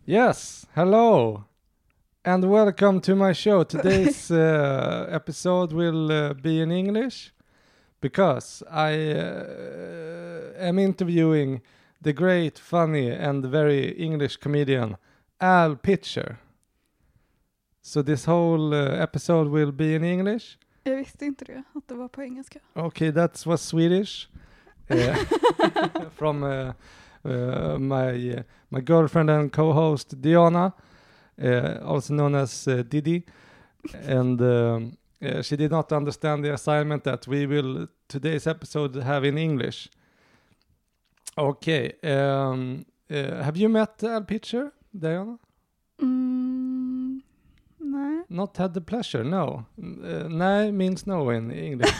Yes, hello, and welcome to my show. Today's episode will be in English because I am interviewing the great, funny, and very English comedian Al Pitcher. So this whole episode will be in English. Jag visste inte det, att det var på engelska. Okay, that was Swedish. From my girlfriend and co-host Diana, also known as Didi, and she did not understand the assignment that we will today's episode have in English. Okay, have you met Al Pitcher, Diana? Nej. Not had the pleasure, no. Nej means no in English.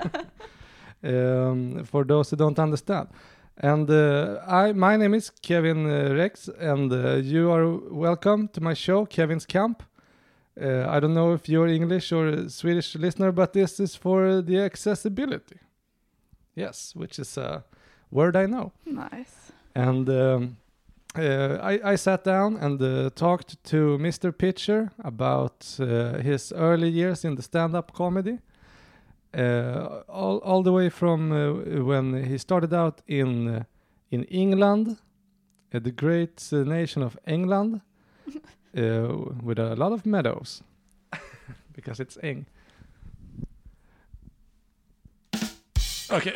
For those who don't understand. And my name is Kevin Rex, and you are welcome to my show, Kevin's Camp. I don't know if you're English or a Swedish listener, but this is for the accessibility. Yes, which is a word I know. Nice. And I sat down and talked to Mr. Pitcher about his early years in the stand-up comedy. All the way from when he started out in England, the great nation of England, with a lot of meadows, because it's Eng. Okay.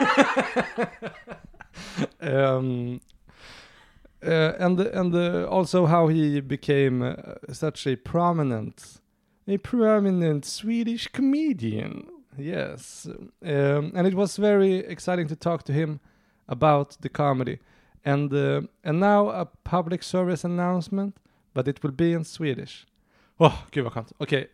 And also how he became such a prominent Swedish comedian. Yes, and it was very exciting to talk to him about the comedy, and now a public service announcement, but it will be in Swedish. Gud vad skönt. Okej.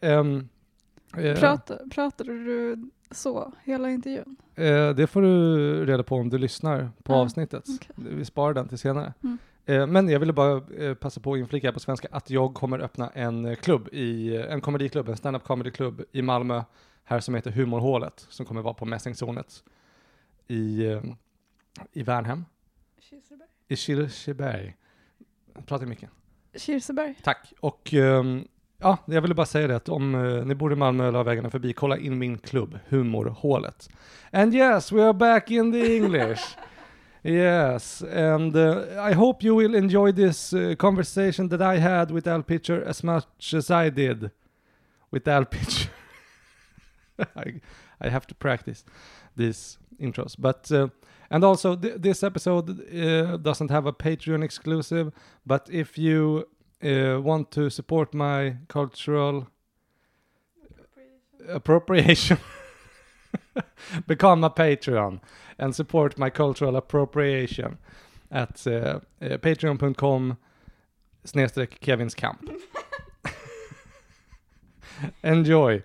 Pratade du så hela intervjun? Det får du reda på om du lyssnar på avsnittet. Okay. Vi sparar den till senare. Men jag ville bara passa på att inflika på svenska att jag kommer öppna en klubb, en komediklubb, en stand-up comedy-klubb i Malmö här som heter Humorhålet, som kommer vara på Mässingzonet i Värnhem. I Kirseberg. Pratar mycket. Kirseberg. Tack. Och jag ville bara säga det att om ni bor i Malmö eller har vägarna förbi, kolla in min klubb, Humorhålet. And yes, we are back in the English. Yes, and I hope you will enjoy this conversation that I had with Al Pitcher as much as I did with Al Pitcher. I have to practice these intros, but and also this episode doesn't have a Patreon exclusive, but if you want to support my cultural appropriation become a Patreon and support my cultural appropriation at patreon.com/kevinskamp. Enjoy.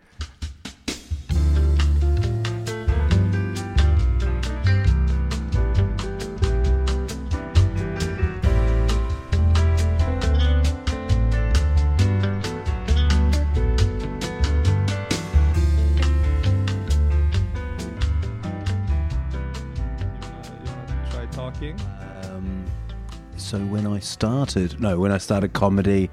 So when I started comedy,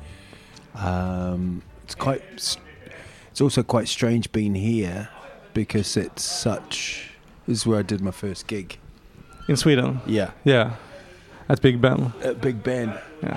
it's also quite strange being here because this is where I did my first gig. In Sweden? Yeah. At Big Ben. At Big Ben. Yeah.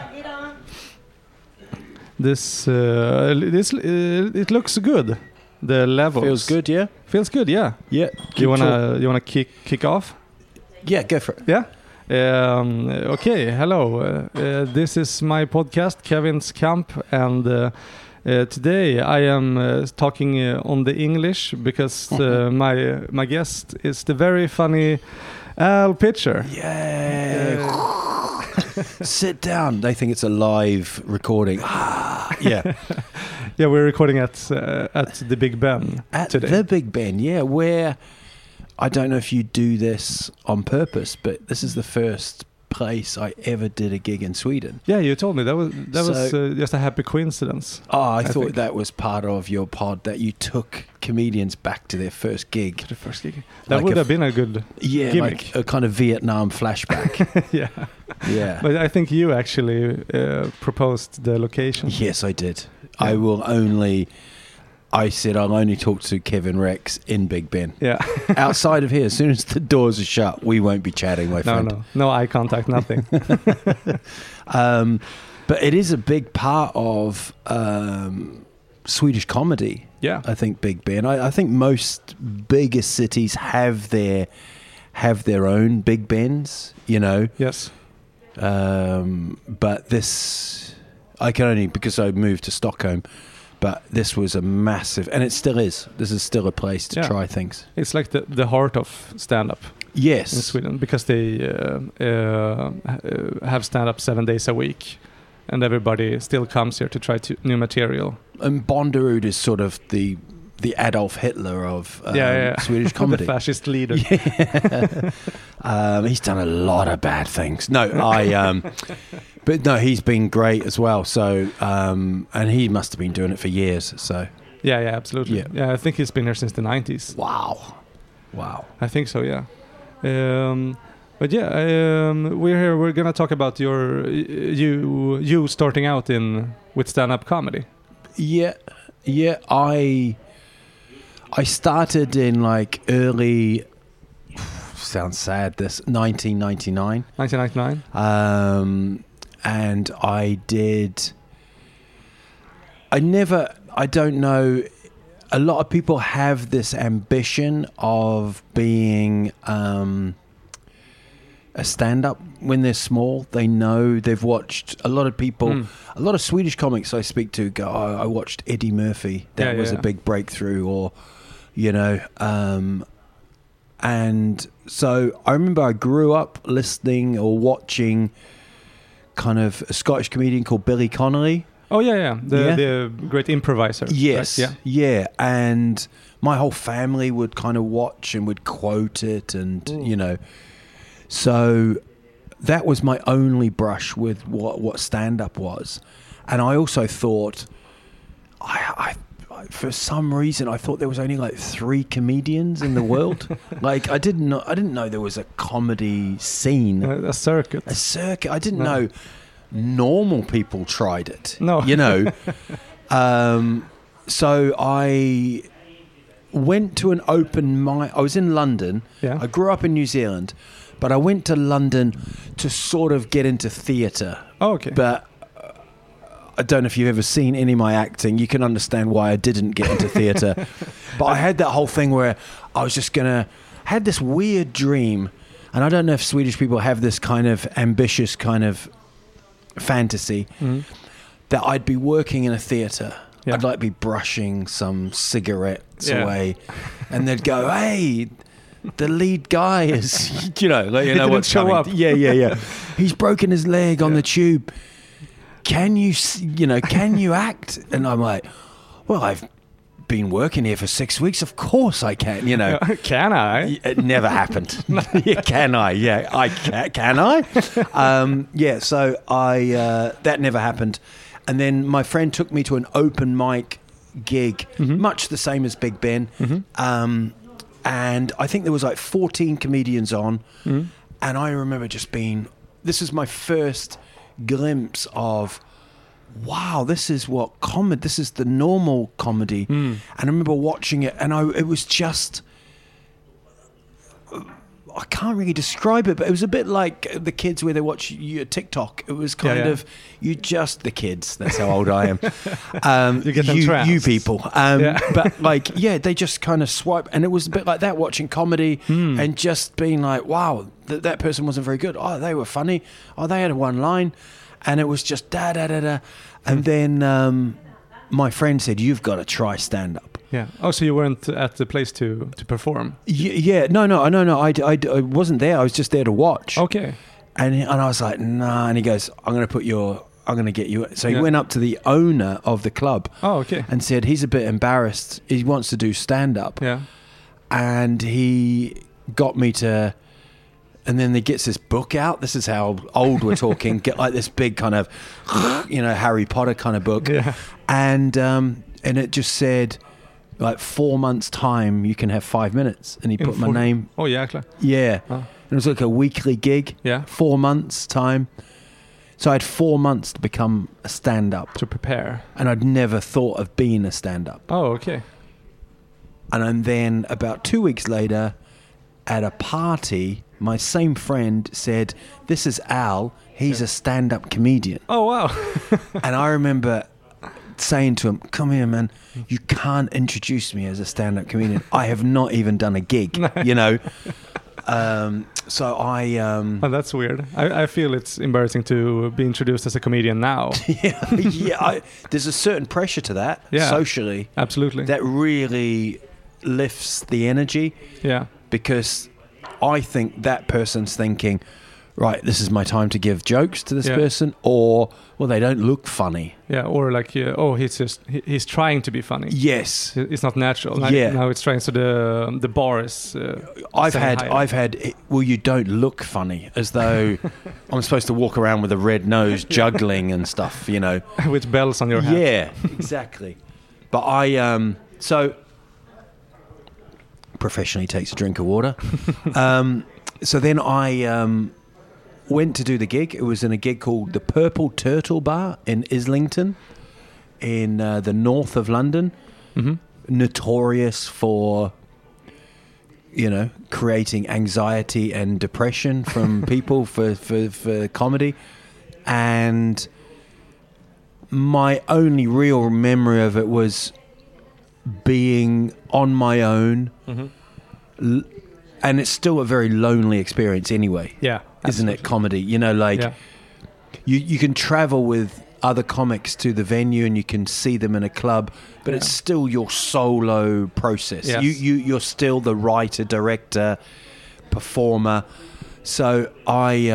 This it looks good. The levels. Feels good, yeah? Feels good, yeah. Yeah. You wanna kick off? Yeah, go for it. Yeah. Okay, hello. This is my podcast, Kevin's Camp, and today I am talking on the English because my guest is the very funny Al Pitcher. Yeah. Sit down. They think it's a live recording. Yeah. Yeah, we're recording at the Big Ben today. The Big Ben, yeah, where I don't know if you do this on purpose, but this is the first place I ever did a gig in Sweden. Yeah, you told me that was just a happy coincidence. Oh, I thought think. that was part of your pod, that you took comedians back to their first gig. The first gig. That Like would a have been a good Yeah, gimmick. like a kind of Vietnam flashback. Yeah. Yeah. But I think you actually proposed the location. Yes, I did. Yeah. I said I'll only talk to Kevin Rex in Big Ben. Yeah. Outside of here, as soon as the doors are shut, we won't be chatting, my friend. No eye contact, nothing. But it is a big part of Swedish comedy. Yeah. I think Big Ben. I think most bigger cities have their own Big Bens, you know. Yes. But this, I can only, because I moved to Stockholm, but this was a massive, and it still is. This is still a place to try things. It's like the heart of stand-up Yes. in Sweden, because they have stand-up 7 days a week, and everybody still comes here to try new material. And Bonderud is sort of the Adolf Hitler of Swedish comedy. The fascist leader. He's done a lot of bad things. No, but no, he's been great as well. So, and he must have been doing it for years. So, Yeah, absolutely. Yeah, I think he's been here since the 90s. Wow. I think so, yeah. But yeah, we're here. We're gonna talk about you starting out with stand-up comedy. Yeah. I started in like early. Sounds sad. This 1999. 1999. And I don't know, a lot of people have this ambition of being a stand-up when they're small. They know, they've watched a lot of people, a lot of Swedish comics I speak to go, oh, I watched Eddie Murphy. That was a big breakthrough, or, you know, and so I remember I grew up listening or watching kind of a Scottish comedian called Billy Connolly. Oh yeah. The great improviser. Yes. Right? Yeah. And my whole family would kind of watch and would quote it, and you know, so that was my only brush with what stand-up was. And I also thought, I for some reason I thought there was only like 3 comedians in the world. Like I didn't know there was a comedy scene, A circuit. I didn't know normal people tried it. No. You know. So I went to an open mic. I was in London. Yeah. I grew up in New Zealand, but I went to London to sort of get into theatre. Oh, okay. But I don't know if you've ever seen any of my acting. You can understand why I didn't get into theatre. But I had that whole thing where I was just had this weird dream. And I don't know if Swedish people have this kind of ambitious kind of fantasy that I'd be working in a theatre. Yeah. I'd like be brushing some cigarettes away, and they'd go, "Hey, the lead guy is, you know, like, you know what's show coming. up. Yeah. He's broken his leg on the tube. Can you act?" And I'm like, "Well, I've been working here for 6 weeks. Of course I can, you know." Can I? It never happened. Can I? Yeah, I can. Can I? So I that never happened. And then my friend took me to an open mic gig, much the same as Big Ben. And I think there was like 14 comedians on. And I remember just this is my first glimpse of, wow, this is this is the normal comedy. And I remember watching it, and it was just, I can't really describe it, but it was a bit like the kids where they watch TikTok. It was kind of, the kids, that's how old I am. You get them trounced. You people. But like, they just kind of swipe. And it was a bit like that, watching comedy and just being like, wow, that person wasn't very good. Oh, they were funny. Oh, they had one line. And it was just da-da-da-da. And then my friend said, "You've got to try stand-up." Yeah. Oh, so you weren't at the place to perform? Yeah. No. I wasn't there. I was just there to watch. Okay. And I was like, "Nah." And he goes, I'm going to get you. So he went up to the owner of the club. Oh, okay. And said he's a bit embarrassed. He wants to do stand-up. Yeah. And he got me to and then he gets this book out. This is how old we're talking. Get like this big kind of, Harry Potter kind of book. Yeah. And it just said, like 4 months' time, you can have 5 minutes. And he put my name. Oh, jäklar. Yeah. Oh. It was like a weekly gig. Yeah. 4 months' time. So I had 4 months to become a stand-up. To prepare. And I'd never thought of being a stand-up. Oh, okay. And then about 2 weeks later, at a party, my same friend said, "This is Al. He's a stand-up comedian." Oh, wow. And I remember saying to him, "Come here, man. You can't introduce me as a stand-up comedian. I have not even done a gig, So I... Oh, that's weird. I feel it's embarrassing to be introduced as a comedian now. there's a certain pressure to that, socially. Absolutely. That really lifts the energy. Yeah. Because I think that person's thinking, right, this is my time to give jokes to this person, or, well, they don't look funny. Yeah, or like, he's trying to be funny. Yes. It's not natural. Now it's trying, so the bar is... I've had, well, you don't look funny, as though I'm supposed to walk around with a red nose juggling and stuff, With bells on your head. Yeah, exactly. But so... professionally takes a drink of water. So then I went to do the gig. It was in a gig called the Purple Turtle Bar in Islington, in the north of London. Mm-hmm. Notorious for, creating anxiety and depression from people for comedy. And my only real memory of it was being on my own. Mm-hmm. And it's still a very lonely experience anyway. Yeah. Isn't it, comedy? You can travel with other comics to the venue and you can see them in a club, but it's still your solo process. Yes. You're still the writer, director, performer. So I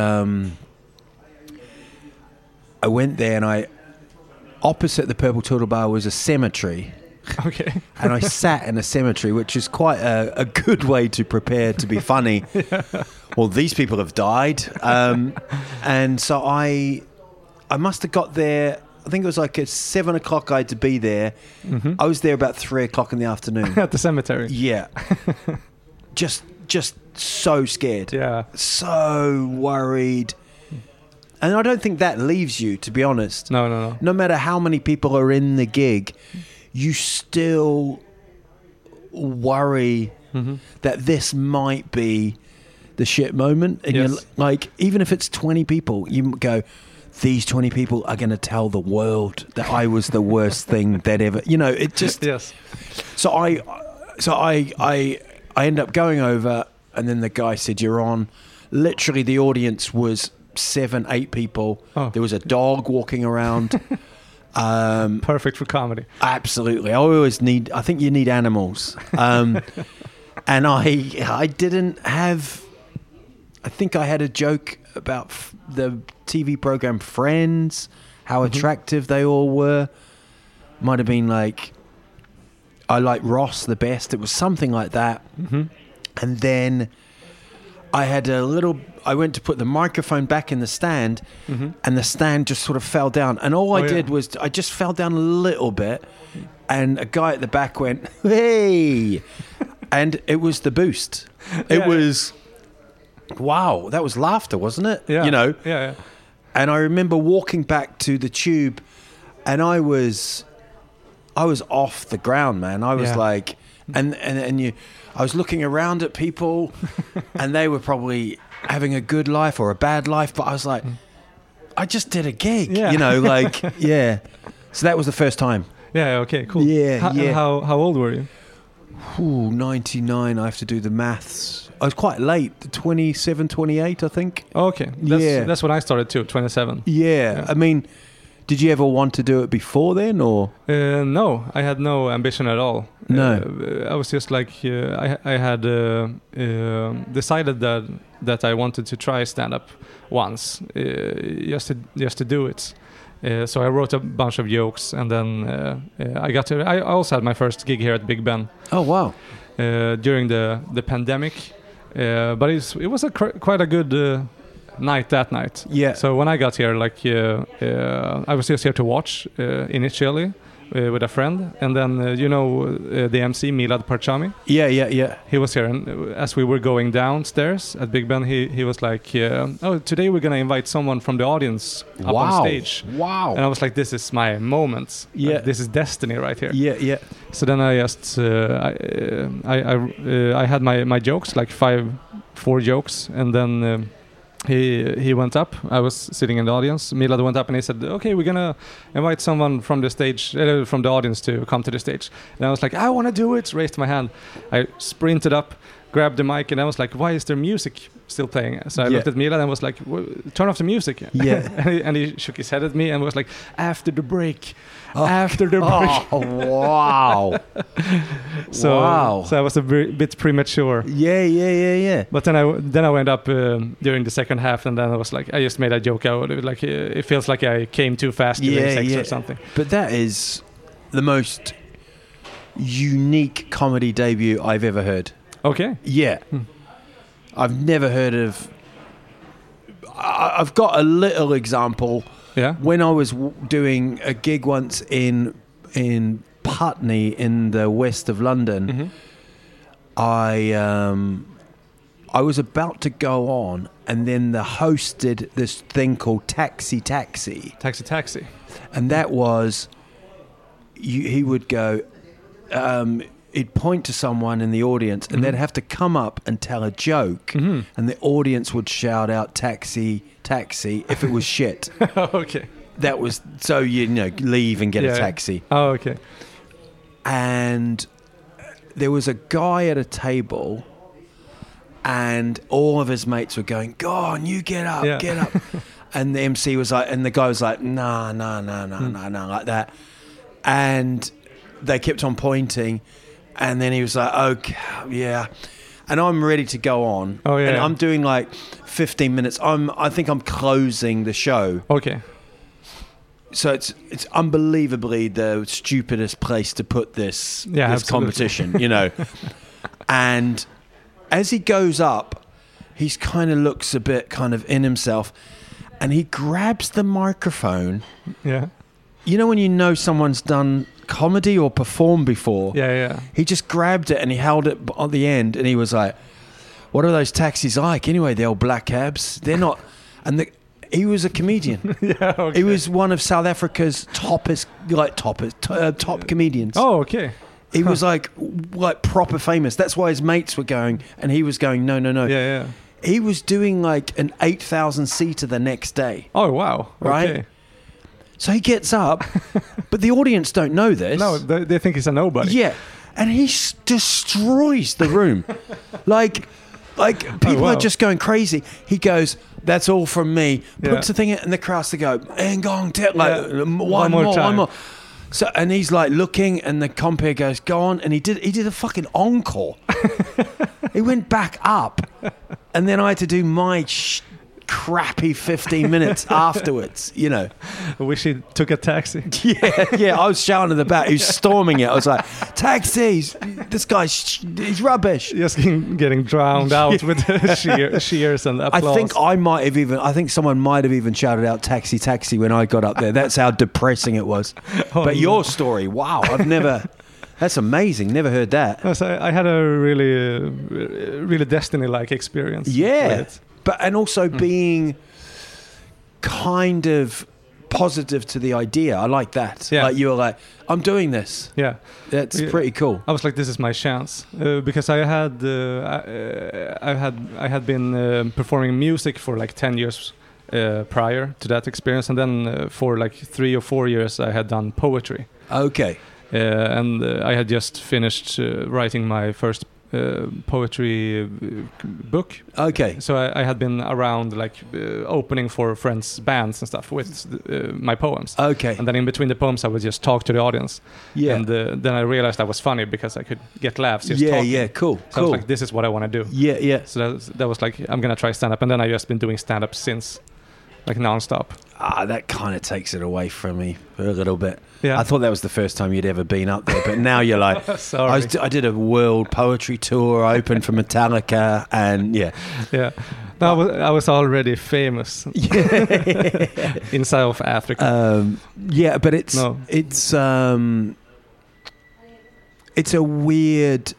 went there, and opposite the Purple Turtle Bar was a cemetery. Okay. And I sat in a cemetery, which is quite a good way to prepare to be funny. Yeah. Well, these people have died. And so I must have got there, I think it was like at 7 o'clock I had to be there. Mm-hmm. I was there about 3 o'clock in the afternoon. At the cemetery? Yeah. Just so scared. Yeah. So worried. And I don't think that leaves you, to be honest. No. No matter how many people are in the gig, you still worry that this might be the shit moment. And you're like, even if it's 20 people, you go, these 20 people are going to tell the world that I was the worst thing that ever, it just... Yes. So I end up going over, and then the guy said, "You're on." Literally, the audience was 7-8 people. Oh. There was a dog walking around. Perfect for comedy. Absolutely. I think you need animals. And I didn't have, I think I had a joke about the TV program Friends, how attractive they all were. Might have been like, I like Ross the best. It was something like that. Mm-hmm. And then I went to put the microphone back in the stand, and the stand just sort of fell down. And all I did was I just fell down a little bit, and a guy at the back went, "Hey!" And it was the boost. It was, wow, that was laughter, wasn't it? Yeah. Yeah. And I remember walking back to the Tube, and I was off the ground, man. I was like, I was looking around at people, and they were probably having a good life or a bad life, but I was like, I just did a gig, yeah. So that was the first time. Yeah. Okay. Cool. Yeah. How old were you? 99. I have to do the maths. I was quite late, 27, 28, I think. Oh, okay. That's when I started too, 27. Yeah. I mean, did you ever want to do it before then, or? No, I had no ambition at all. No. I was just like, I had decided that I wanted to try stand-up once, just to do it. So I wrote a bunch of jokes, and then I also had my first gig here at Big Ben. Oh, wow. During the pandemic. But it was quite a good night that night. Yeah. So when I got here, like I was just here to watch initially with a friend, and then the MC Milad Parchami. Yeah. He was here, and as we were going downstairs at Big Ben, he was like, "Oh, today we're gonna invite someone from the audience up on stage." Wow. And I was like, "This is my moment. Yeah. Like, this is destiny right here." Yeah. So then I just I had my jokes, like 4 jokes, and then he went up. I was sitting in the audience. Milad went up and he said, "Okay, we're gonna invite someone from the stage, from the audience to come to the stage." And I was like, "I want to do it." Raised my hand. I sprinted up, grabbed the mic, and I was like, "Why is there music still playing?" So I looked at Milad and was like, "Turn off the music." Yeah. and he shook his head at me and was like, "After the break." After the break. Oh, wow. So I was a bit premature. Yeah. But then I went up during the second half, and then I was like, I just made a joke out of it. Like it feels like I came too fast during sex or something. But that is the most unique comedy debut I've ever heard. Okay. Yeah. I've never heard of... I've got a little example. Yeah. When I was doing a gig once in Putney in the west of London, I was about to go on, and then the host did this thing called Taxi. Taxi. And that was, he would go, he'd point to someone in the audience, and they'd have to come up and tell a joke, and the audience would shout out "Taxi, taxi" if it was shit. Okay. That was so leave and get a taxi. Oh, okay. And there was a guy at a table, and all of his mates were going, "Go on, you get up, get up." And the MC was like, and the guy was like, "Nah," like that. And they kept on pointing, and then he was like, "Okay, yeah." And I'm ready to go on. Oh, yeah. And I'm doing like 15 minutes. I think I'm closing the show. Okay. So it's unbelievably the stupidest place to put this competition, And as he goes up, he kind of looks a bit kind of in himself, and he grabs the microphone. Yeah. When someone's done comedy or performed before. Yeah. He just grabbed it and he held it on the end, and he was like, "What are those taxis like anyway? The old black cabs? They're not." And he was a comedian. Yeah. Okay. He was one of South Africa's top comedians. Oh, okay. He was like proper famous. That's why his mates were going, and he was going, no. Yeah. He was doing like an 8,000 seater the next day. Oh, wow. Right? Okay. So he gets up, but the audience don't know this. No, they think he's a nobody. Yeah. And he destroys the room. like people are just going crazy. He goes, "That's all from me." Puts the thing in, and the crowds to go, "And gong, one more." So, and he's like looking, and the compere goes, "Go on," and he did a fucking encore. He went back up, and then I had to do my crappy 15 minutes afterwards. I wish he took a taxi. Yeah. I was shouting at the back. He was storming it. I was like, "Taxis! This guy's he's rubbish." Just getting drowned out with cheers and applause. I think someone might have even shouted out "Taxi, taxi" when I got up there. That's how depressing it was. Your story, wow! That's amazing. Never heard that. So I had a really Destiny-like experience. Yeah. With it. And also being kind of positive to the idea. I like that. Yeah. Like you were like, "I'm doing this." Yeah. That's pretty cool. I was like, this is my chance. Because I had been performing music for like 10 years prior to that experience. And then for like 3 or 4 years, I had done poetry. Okay. And I had just finished writing my first poetry book. Okay. So I had been around like opening for friends' bands and stuff with my poems. Okay. And then in between the poems I would just talk to the audience. Yeah. And then I realized that was funny because I could get laughs just talking. Yeah, cool. So I was like, this is what I want to do. Yeah. So that was like, I'm going to try stand-up. And then I just been doing stand-up since, like non-stop. that kind of takes it away from me a little bit. Yeah. I thought that was the first time you'd ever been up there, but now you're like, Sorry. I did a world poetry tour, I opened for Metallica, and yeah. No, I was already famous in South Africa. But it's a weird.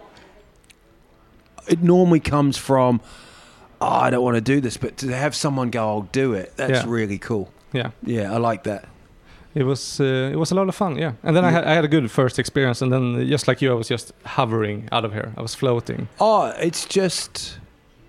It normally comes from, I don't want to do this, but to have someone go, I'll do it. That's really cool. Yeah, I like that. It was a lot of fun. Yeah, and then I had a good first experience, and then just like you, I was just hovering out of here. I was floating. Oh, it's just.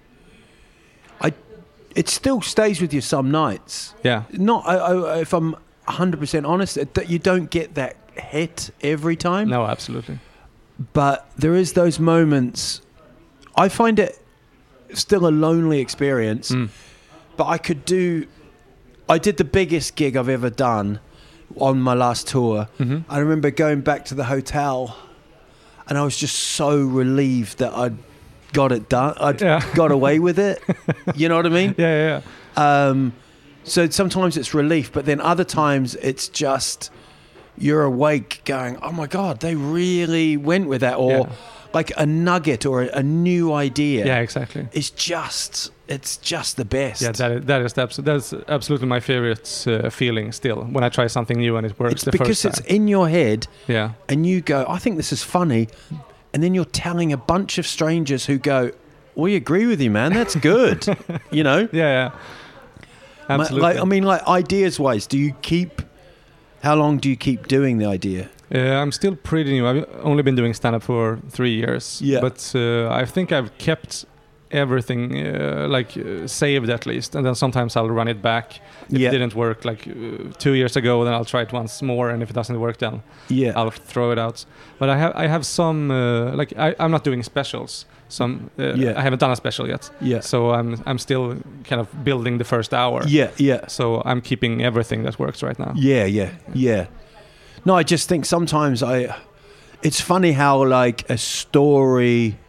It still stays with you some nights. Yeah. Not if I'm 100% honest, that you don't get that hit every time. No, absolutely. But there is those moments. I find it still a lonely experience. But I did the biggest gig I've ever done on my last tour. I remember going back to the hotel, and I was just so relieved that I'd got it done. I'd got away with it. You know what I mean? Yeah. So sometimes it's relief, but then other times it's just you're awake going, oh my God, they really went with that. Or like a nugget or a new idea. Yeah, exactly. It's just the best. Yeah, that's absolutely my favorite feeling still, when I try something new and it works it's the first time. because it's in your head. Yeah. And you go, I think this is funny. And then you're telling a bunch of strangers who go, we agree with you, man. That's good. You know? Yeah. Absolutely. Like ideas-wise, how long do you keep doing the idea? I'm still pretty new. I've only been doing stand-up for 3 years. Yeah. But I think I've kept everything saved at least. And then sometimes I'll run it back. If it didn't work 2 years ago, then I'll try it once more. And if it doesn't work, then I'll throw it out. But I have some, I'm not doing specials. I haven't done a special yet. Yeah. So I'm still kind of building the first hour. Yeah. So I'm keeping everything that works right now. Yeah. No, I just think sometimes it's funny how like a story,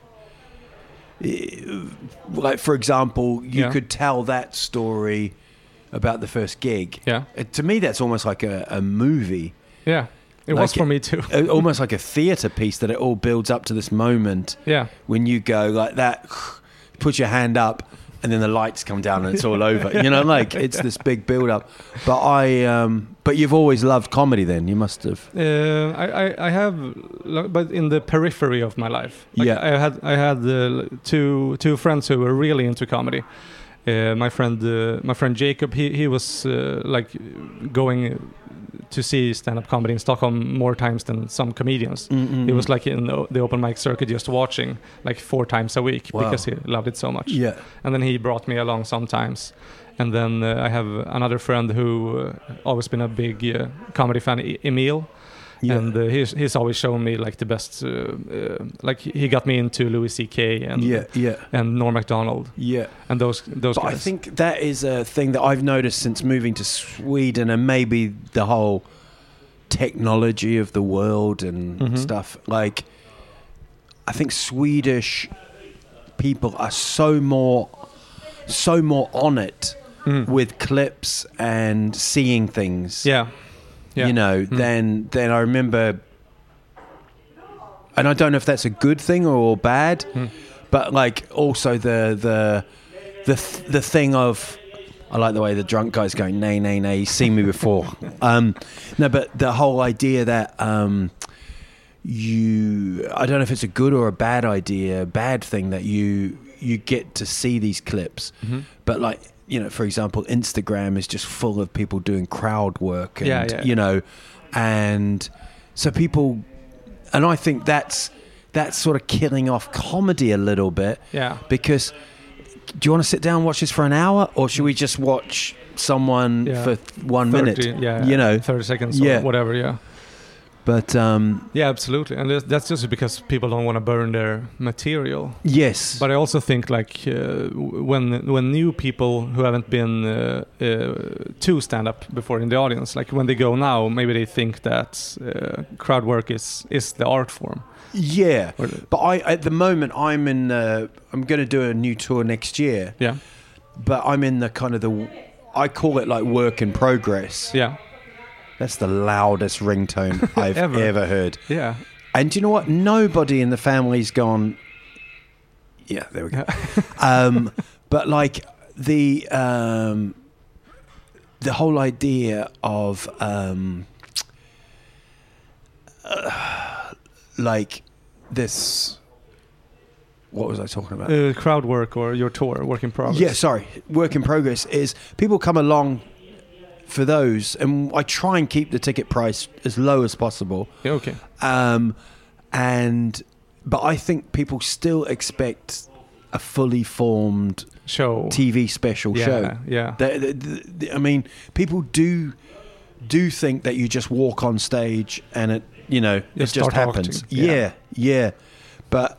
like for example, you could tell that story about the first gig. Yeah. To me, that's almost like a movie. Yeah. It was for me too. Almost like a theatre piece that it all builds up to this moment. Yeah. When you go like that, put your hand up, and then the lights come down and it's all over. You know, like it's this big build up. But you've always loved comedy then, you must have. I have, but in the periphery of my life. I had two friends who were really into comedy. My friend Jacob, he was going to see stand-up comedy in Stockholm more times than some comedians. He was like in the open mic circuit just watching 4 times a week because he loved it so much. Yeah. And then he brought me along sometimes. And then I have another friend who always been a big comedy fan, Emil. Yeah. And he's always shown me the best. He got me into Louis C.K. and Norm Macdonald. Yeah, and those guys. I think that is a thing that I've noticed since moving to Sweden, and maybe the whole technology of the world and stuff. Like, I think Swedish people are so more on it with clips and seeing things. Yeah. Yeah. You know, then I remember, and I don't know if that's a good thing or bad, but also the thing of, I like the way the drunk guy's going, nay, you've seen me before. No, but the whole idea that I don't know if it's a good or a bad idea, bad thing that you get to see these clips, but for example, Instagram is just full of people doing crowd work and, you know, and so people, and I think that's sort of killing off comedy a little bit. Yeah. Because do you want to sit down and watch this for an hour, or should we just watch someone for 1 minute? Yeah. You know, 30 seconds or whatever. Yeah. But yeah, absolutely, and that's just because people don't want to burn their material. Yes, but I also think when new people who haven't been to stand up before in the audience, when they go now, maybe they think that crowd work is the art form. Yeah, but at the moment I'm going to do a new tour next year. Yeah, but I'm in the kind of I call it like work in progress. Yeah. That's the loudest ringtone I've ever heard. Yeah. And do you know what? Nobody in the family's gone. Yeah, there we go. But like the whole idea of like this. What was I talking about? Crowd work or your tour, work in progress. Yeah, sorry. Work in progress is people come along for those, and I try and keep the ticket price as low as possible. Yeah, okay. But I think people still expect a fully formed show, TV special show. Yeah. I mean, people do think that you just walk on stage and it just happens. Yeah. But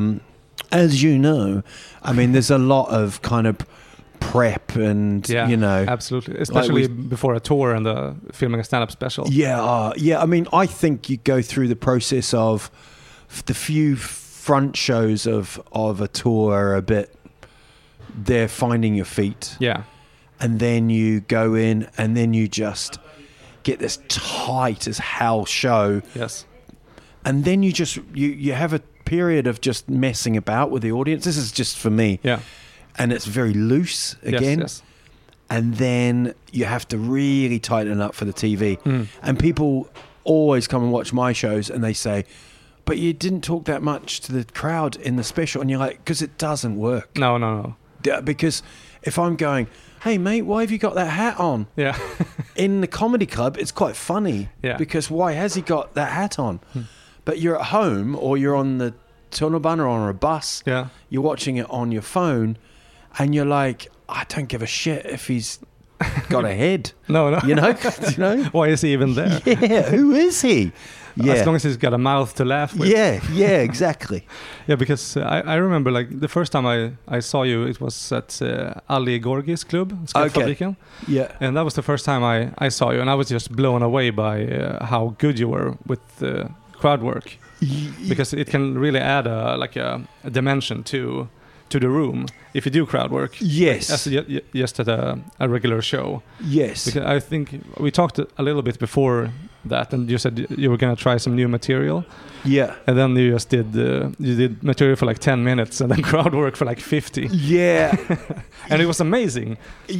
as you know, I mean, there's a lot of kind of prep and absolutely, especially before a tour and filming a stand-up special. I mean, I think you go through the process of the few front shows of a tour are a bit, they're finding your feet, and then you go in and then you just get this tight as hell show, and then you just you have a period of just messing about with the audience. This is just for me, and it's very loose again. And then you have to really tighten up for the TV. And people always come and watch my shows and they say, but you didn't talk that much to the crowd in the special. And you're like, because it doesn't work. No. Because if I'm going, hey mate, why have you got that hat on? Yeah. In the comedy club, it's quite funny. Yeah. Because why has he got that hat on? But you're at home or you're on the tunnelbana or on a bus. Yeah. You're watching it on your phone and you're like, I don't give a shit if he's got a head. No. You know? Why is he even there? Yeah, who is he? Yeah. As long as he's got a mouth to laugh with. Yeah, exactly. Yeah, because I remember like the first time I saw you, it was at Ali Gorgis Club, Skattfabriken. Yeah. And that was the first time I saw you, and I was just blown away by how good you were with crowd work. Because it can really add a dimension to the room if you do crowd work. Yes. As just at a regular show. Yes. Because I think we talked a little bit before that, and you said you were going to try some new material. Yeah. And then you just did material for like 10 minutes and then crowd work for like 50. Yeah. And it was amazing.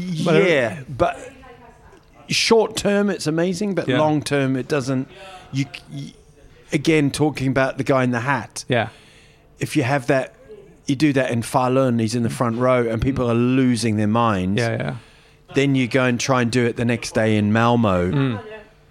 But short term it's amazing, but long term it doesn't. You again, talking about the guy in the hat. Yeah. If you have that, you do that in Falun, he's in the front row and people are losing their minds. Yeah. Then you go and try and do it the next day in Malmo.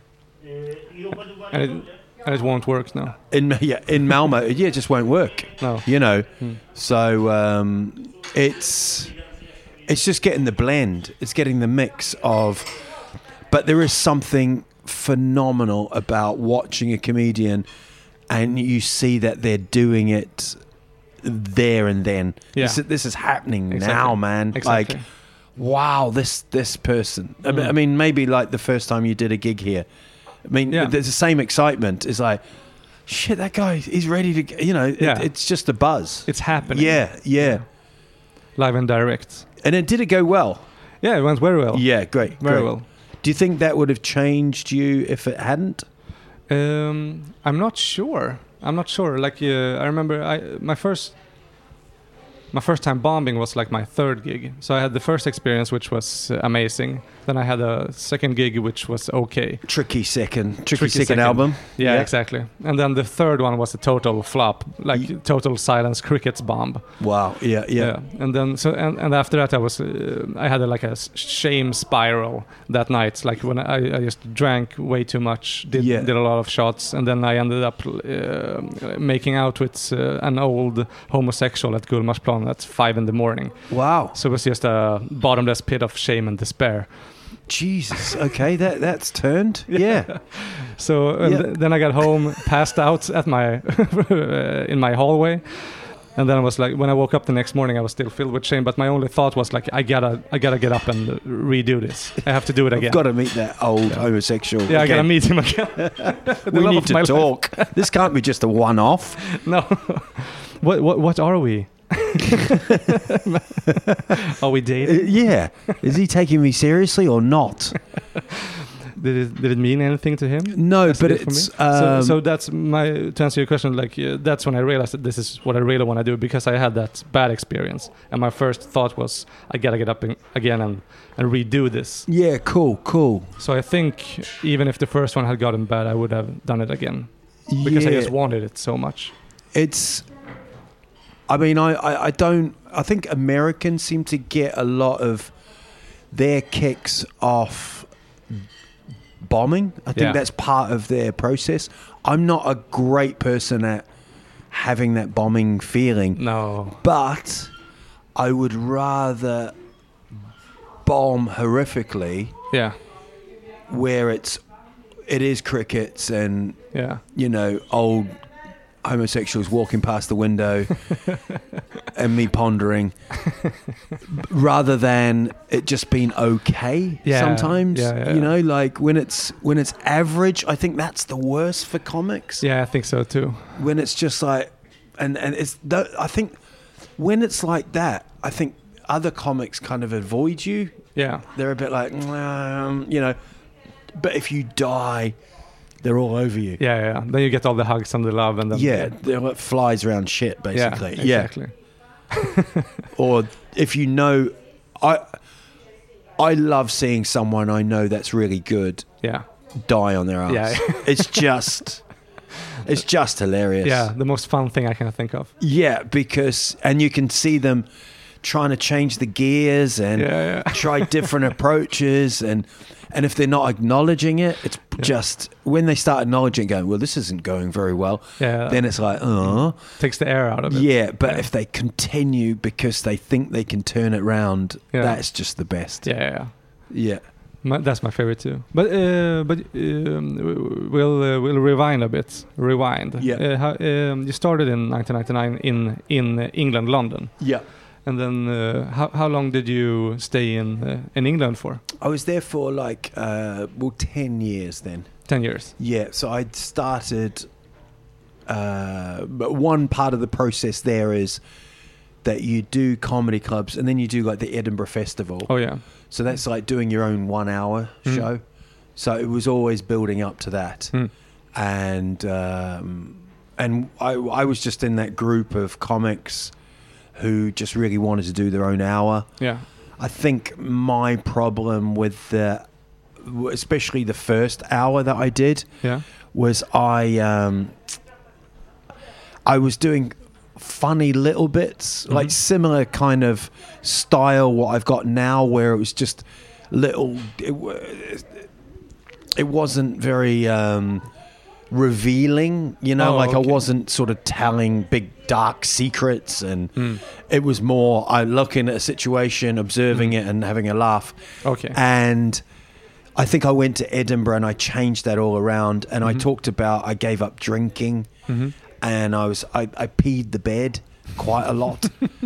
And it won't work now. In Malmo, it just won't work. No. So it's just getting the blend. It's getting the mix of. But there is something phenomenal about watching a comedian, and you see that they're doing it there and then. Yeah. This is happening now, man. Exactly. Like, wow, this person. I mean, maybe like the first time you did a gig here. I mean, there's the same excitement. It's like, shit, that guy, he's ready to, it's just a buzz. It's happening. Yeah. Live and direct. And did it go well? Yeah, it went very well. Yeah, great. Very well. Do you think that would have changed you if it hadn't? I'm not sure. Like, I remember my first time bombing was like my third gig. So I had the first experience, which was amazing. Then I had a second gig, which was okay. Tricky second album. Yeah, exactly. And then the third one was a total flop, like total silence crickets bomb. Wow. Yeah. And then and after that I had a shame spiral that night. Like when I just drank way too much, did a lot of shots, and then I ended up making out with an old homosexual at Gullmarsplan at 5 a.m. Wow. So it was just a bottomless pit of shame and despair. Jesus. Okay, that's turned. Yeah. So then I got home, passed out at my in my hallway, and then I was like, when I woke up the next morning, I was still filled with shame. But my only thought was like, I gotta get up and redo this. I have to do it again. I've got to meet that old homosexual. Yeah, again. I gotta meet him again. We need to talk. This can't be just a one-off. No. What are we? Are we dating? Yeah. Is he taking me seriously or not? Did it mean anything to him? No, as but it did for it's... me? So that's to answer your question, like that's when I realized that this is what I really want to do, because I had that bad experience. And my first thought was, I got to get up again and redo this. Yeah, cool. So I think even if the first one had gotten bad, I would have done it again. Because I just wanted it so much. It's... I mean, I don't... I think Americans seem to get a lot of their kicks off bombing. I think that's part of their process. I'm not a great person at having that bombing feeling. No. But I would rather bomb horrifically. Yeah. Where it is crickets and, you know, old homosexuals walking past the window and me pondering, rather than it just being okay sometimes. You know, like when it's average, I think that's the worst for comics. Yeah, I think so too. When it's just like, and it's, I think when it's like that, I think other comics kind of avoid you. Yeah. They're a bit like, you know, but if you die, they're all over you. Yeah. Then you get all the hugs and the love, and then they're like flies around shit, basically. Yeah, exactly. Or if you know, I love seeing someone I know that's really good. Yeah. Die on their ass. Yeah. It's just hilarious. Yeah, the most fun thing I can think of. Yeah, because you can see them trying to change the gears and try different approaches, and if they're not acknowledging it, it's just when they start acknowledging it, going, well, this isn't going very well, then it's like, takes the air out of it. Yeah, but if they continue because they think they can turn it around, that's just the best. Yeah. That's my favorite too. But we'll rewind a bit. Yeah. You started in 1999 in England, London. Yeah. And then how long did you stay in England for? I was there for 10 years then. 10 years? Yeah, so I'd started... but one part of the process there is that you do comedy clubs and then you do like the Edinburgh Festival. Oh, yeah. So that's like doing your own 1 hour show. So it was always building up to that. And I was just in that group of comics who just really wanted to do their own hour. Yeah. I think my problem with especially the first hour that I did was I was doing funny little bits, like similar kind of style what I've got now, where it was just little, it wasn't very revealing, you know, I wasn't sort of telling big dark secrets, and it was more I looking at a situation, observing it and having a laugh. And I think I went to Edinburgh and I changed that all around, and I talked about I gave up drinking, and I peed the bed quite a lot.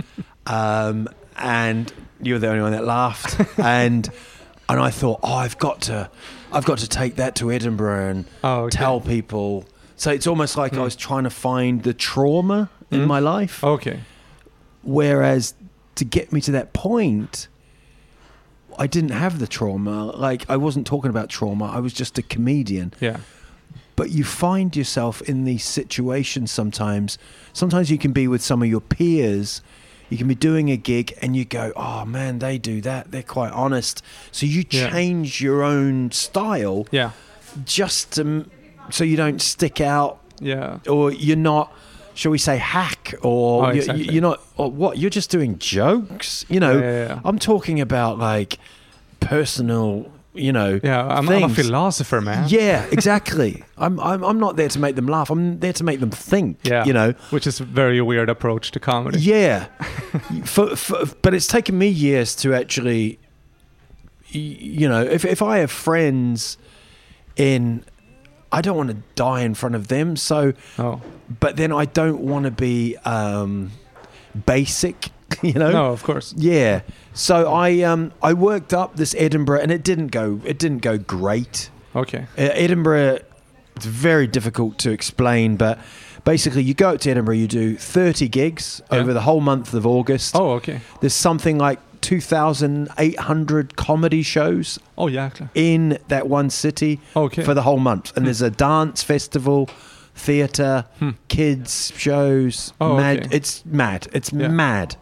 And you were the only one that laughed. and I thought, I've got to take that to Edinburgh and tell people. So it's almost like I was trying to find the trauma in my life. Whereas to get me to that point, I didn't have the trauma. Like, I wasn't talking about trauma. I was just a comedian. Yeah. But you find yourself in these situations sometimes. Sometimes you can be with some of your peers. You can be doing a gig and you go, oh man, they do that. They're quite honest. So you change your own style just so you don't stick out. Yeah. Or you're not, shall we say, hack, or you're not, or what? You're just doing jokes. You know, I'm talking about like personal, you know. Yeah, I'm a philosopher, man. Yeah, exactly. I'm not there to make them laugh. I'm there to make them think. Yeah, you know, which is a very weird approach to comedy. Yeah, but it's taken me years to actually, you know, if I have friends I don't want to die in front of them. So, but then I don't want to be basic, you know. No, of course. Yeah. So I worked up this Edinburgh, and it didn't go great. Okay. Edinburgh, it's very difficult to explain, but Basically, you go out to Edinburgh, you do 30 gigs over the whole month of August. Oh, okay. There's something like 2,800 comedy shows Oh, jäklar. in that one city Okay. for the whole month. And there's a dance festival, theatre, kids shows. Oh, mad. okay. It's mad. It's Yeah. mad.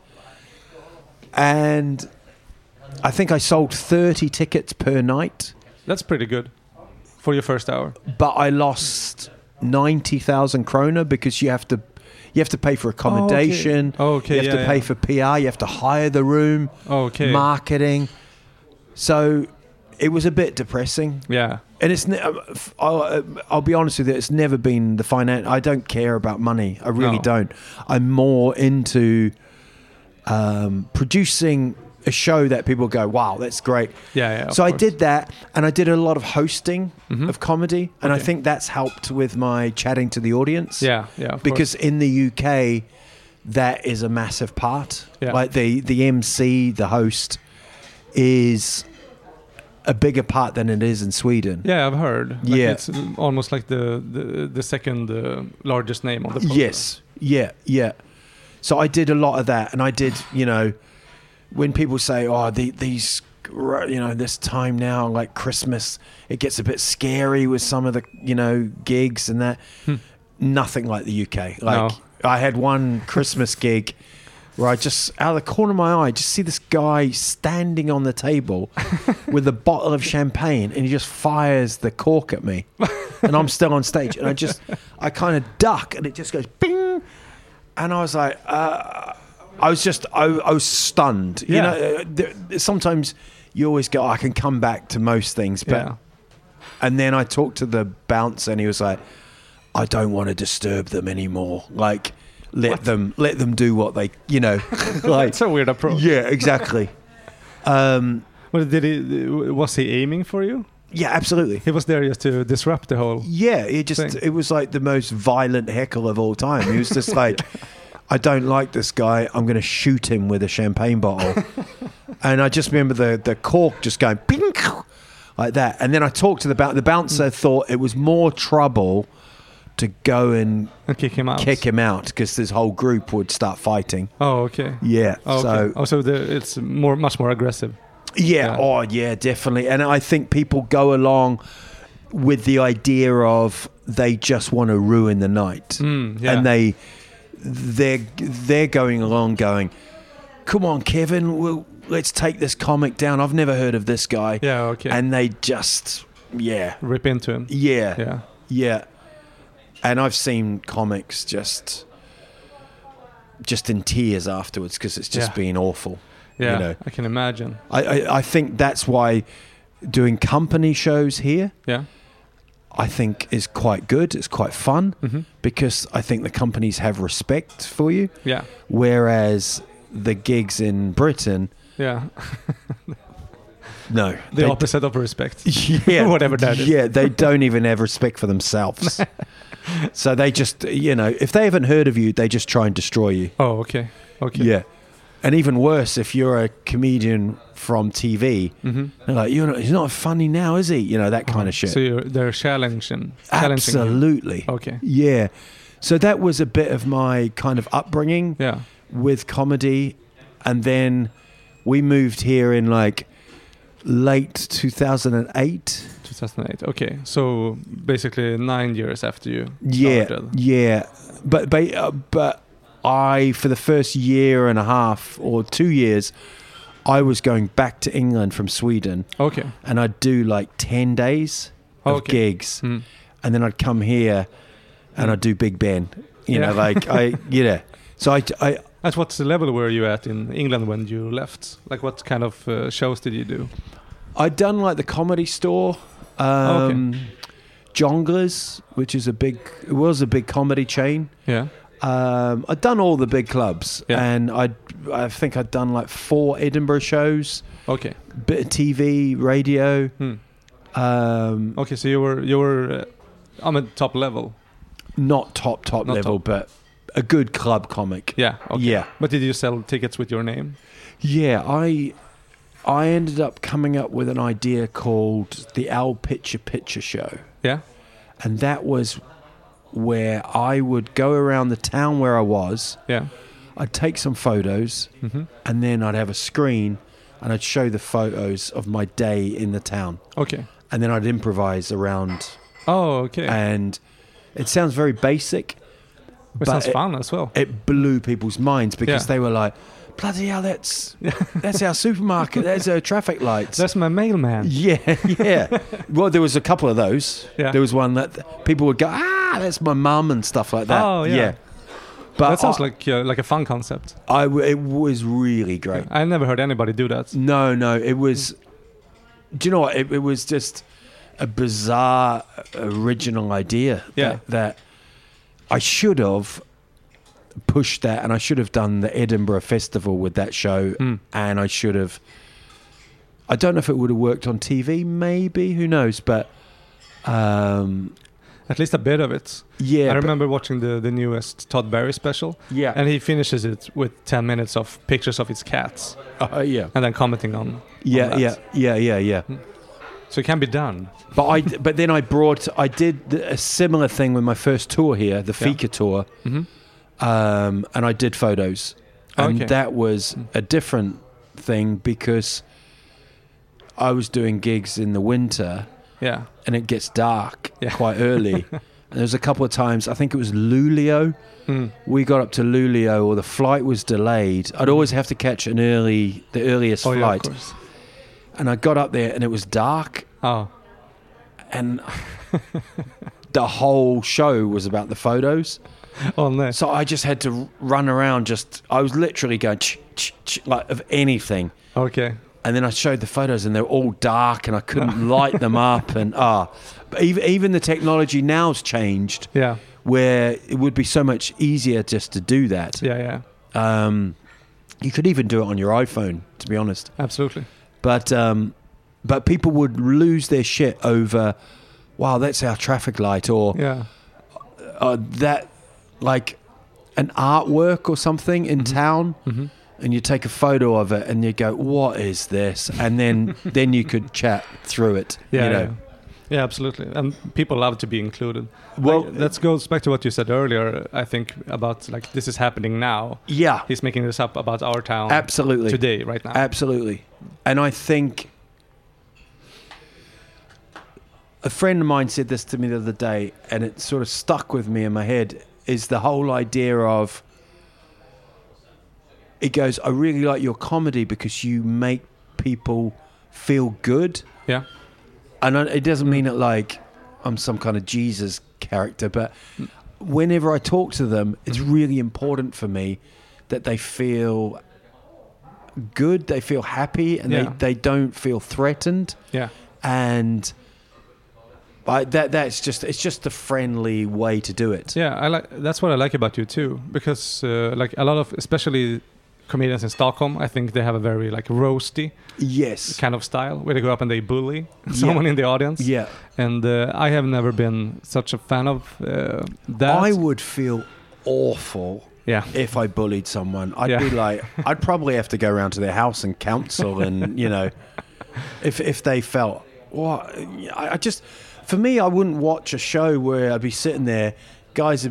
And I think I sold 30 tickets per night, That's pretty good for your first hour. but I lost 90,000 kroner because you have to pay for accommodation. Oh, okay. You have to pay for PR. You have to hire the room. Okay. Marketing. So it was a bit depressing. Yeah. And I'll be honest with you, it's never been the finance. I don't care about money. I really No. don't. I'm more into producing a show that people go, wow, that's great. Yeah. So of I course. did that, and I did a lot of hosting of comedy, and I Okay. think that's helped with my chatting to the audience. Yeah. Of Because in the UK, that is a massive part. Yeah. Like the MC, the host, is a bigger part than it is in Sweden. course. Yeah, I've heard. Like Yeah. It's almost like the second largest name on the program. Yes. Yeah. So I did a lot of that, and I did, when people say, "Oh, these, this time now, like Christmas, it gets a bit scary with some of the, gigs and that." Nothing like the UK. Like I had one Christmas gig where I just, out of the corner of my eye, just see this guy standing on the table with a bottle of champagne, and he just fires the cork at me, and I'm still on stage, and I kind of duck, and it just goes bing, and I was like, I was stunned. Yeah. Sometimes you always go, I can come back to most things, but Yeah. and then I talked to the bouncer, and he was like, I don't want to disturb them anymore. Like, let them do what they, like. It's a weird approach. Yeah, exactly. Well, was he aiming for you? Yeah, absolutely. He was there just to disrupt the whole. Yeah, thing. it was like the most violent heckle of all time. He was just like, I don't like this guy. I'm going to shoot him with a champagne bottle. And I just remember the cork just going ping, like that. And then I talked to the bouncer thought it was more trouble to go and kick him out. because this whole group would start fighting. Oh, okay. Yeah. Oh, So okay. So it's much more aggressive. yeah. Yeah. Oh, yeah, definitely. And I think people go along with the idea of they just want to ruin the night, Yeah. and they're going along, going, "Come on, Kevin, let's take this comic down. I've never heard of this guy." Yeah. Okay. And they just, rip into him. yeah. Yeah. And I've seen comics just in tears afterwards because it's just been awful. Yeah. I can imagine. I think that's why doing company shows here, Yeah. I think, is quite good. It's quite fun Mm-hmm. because I think the companies have respect for you, Yeah. whereas the gigs in Britain, Yeah. no. The opposite of respect. Yeah. Whatever that is. Yeah, they don't even have respect for themselves. So they just, if they haven't heard of you, they just try and destroy you. Oh, okay. Okay. Yeah. And even worse, if you're a comedian from TV, they're like, he's not funny now, is he? That kind of shit. So they're challenging. Absolutely. Okay. Yeah. So that was a bit of my kind of upbringing Yeah. with comedy. And then we moved here in like late 2008. 2008. Okay. So basically 9 years after you Yeah. started. Yeah. But I, for the first year and a half or 2 years, I was going back to England from Sweden, Okay. and I'd do like 10 days of Okay. gigs, Mm. and then I'd come here and I'd do Big Ben. Yeah. So I At what level were you at in England when you left? Like what kind of shows did you do? I'd done like the Comedy Store, Jongleurs, which is was a big comedy chain. Yeah. I'd done all the big clubs, Yeah. and I think I'd done like 4 Edinburgh shows, Okay. bit of TV, radio. Okay. So you were on a top level. Not top Not level, top. but a good club comic. Yeah. Okay. Yeah. But did you sell tickets with your name? Yeah, I ended up coming up with an idea called the Al Picture Show, Yeah. and that was where I would go around the town where I was. Yeah. I'd take some photos, and then I'd have a screen, and I'd show the photos of my day in the town. Okay. And then I'd improvise around. Oh, okay. And it sounds very basic. It sounds fun as well. It blew people's minds because they were like, bloody hell, that's our supermarket. There's our traffic lights. That's my mailman. Yeah. Well, there was a couple of those. Yeah. There was one that people would go, that's my mum and stuff like that. Oh, yeah. But that sounds like a fun concept. It was really great. I never heard anybody do that. No, it was... Do you know what? It was just a bizarre, original idea that I should have pushed that, and I should have done the Edinburgh Festival with that show, and I should have... I don't know if it would have worked on TV, maybe, who knows, but... At least a bit of it. Yeah. I remember watching the newest Todd Berry special. Yeah. And he finishes it with 10 minutes of pictures of his cats. Yeah. And then commenting on Yeah. So it can be done. But then I did a similar thing with my first tour here, the Fika tour, and I did photos, and that was a different thing because I was doing gigs in the winter, and it gets dark quite early. And there was a couple of times, I think it was Luleå. We got up to Luleå, or the flight was delayed. I'd always have to catch the earliest flight. Yeah, of course. And I got up there and it was dark. Oh. And the whole show was about the photos. Oh, no. So I just had to run around I was literally going like of anything. Okay. And then I showed the photos and they were all dark and I couldn't light them up. And but even the technology now's changed. Yeah. Where it would be so much easier just to do that. Yeah. You could even do it on your iPhone, to be honest. Absolutely. But people would lose their shit over, wow, that's our traffic light, or that, like an artwork or something in town, and you take a photo of it and you go, what is this? And then you could chat through it. Yeah, absolutely. And people love to be included. Well, that goes back to what you said earlier, I think, about like this is happening now. Yeah. He's making this up about our town. Absolutely. Today, right now. Absolutely. And I think a friend of mine said this to me the other day, and it sort of stuck with me in my head, is the whole idea of, it goes, I really like your comedy because you make people feel good. Yeah. And it doesn't mean it like I'm some kind of Jesus character, but whenever I talk to them, it's really important for me that they feel good, they feel happy, and they don't feel threatened. Yeah. And it's just a friendly way to do it. Yeah, that's what I like about you too, because like a lot of, especially comedians in Stockholm, I think they have a very like roasty kind of style where they go up and they bully someone in the audience. Yeah. And I have never been such a fan of that. I would feel awful if I bullied someone. I'd be like, I'd probably have to go around to their house and counsel and, if they felt, I just, for me, I wouldn't watch a show where I'd be sitting there, guys,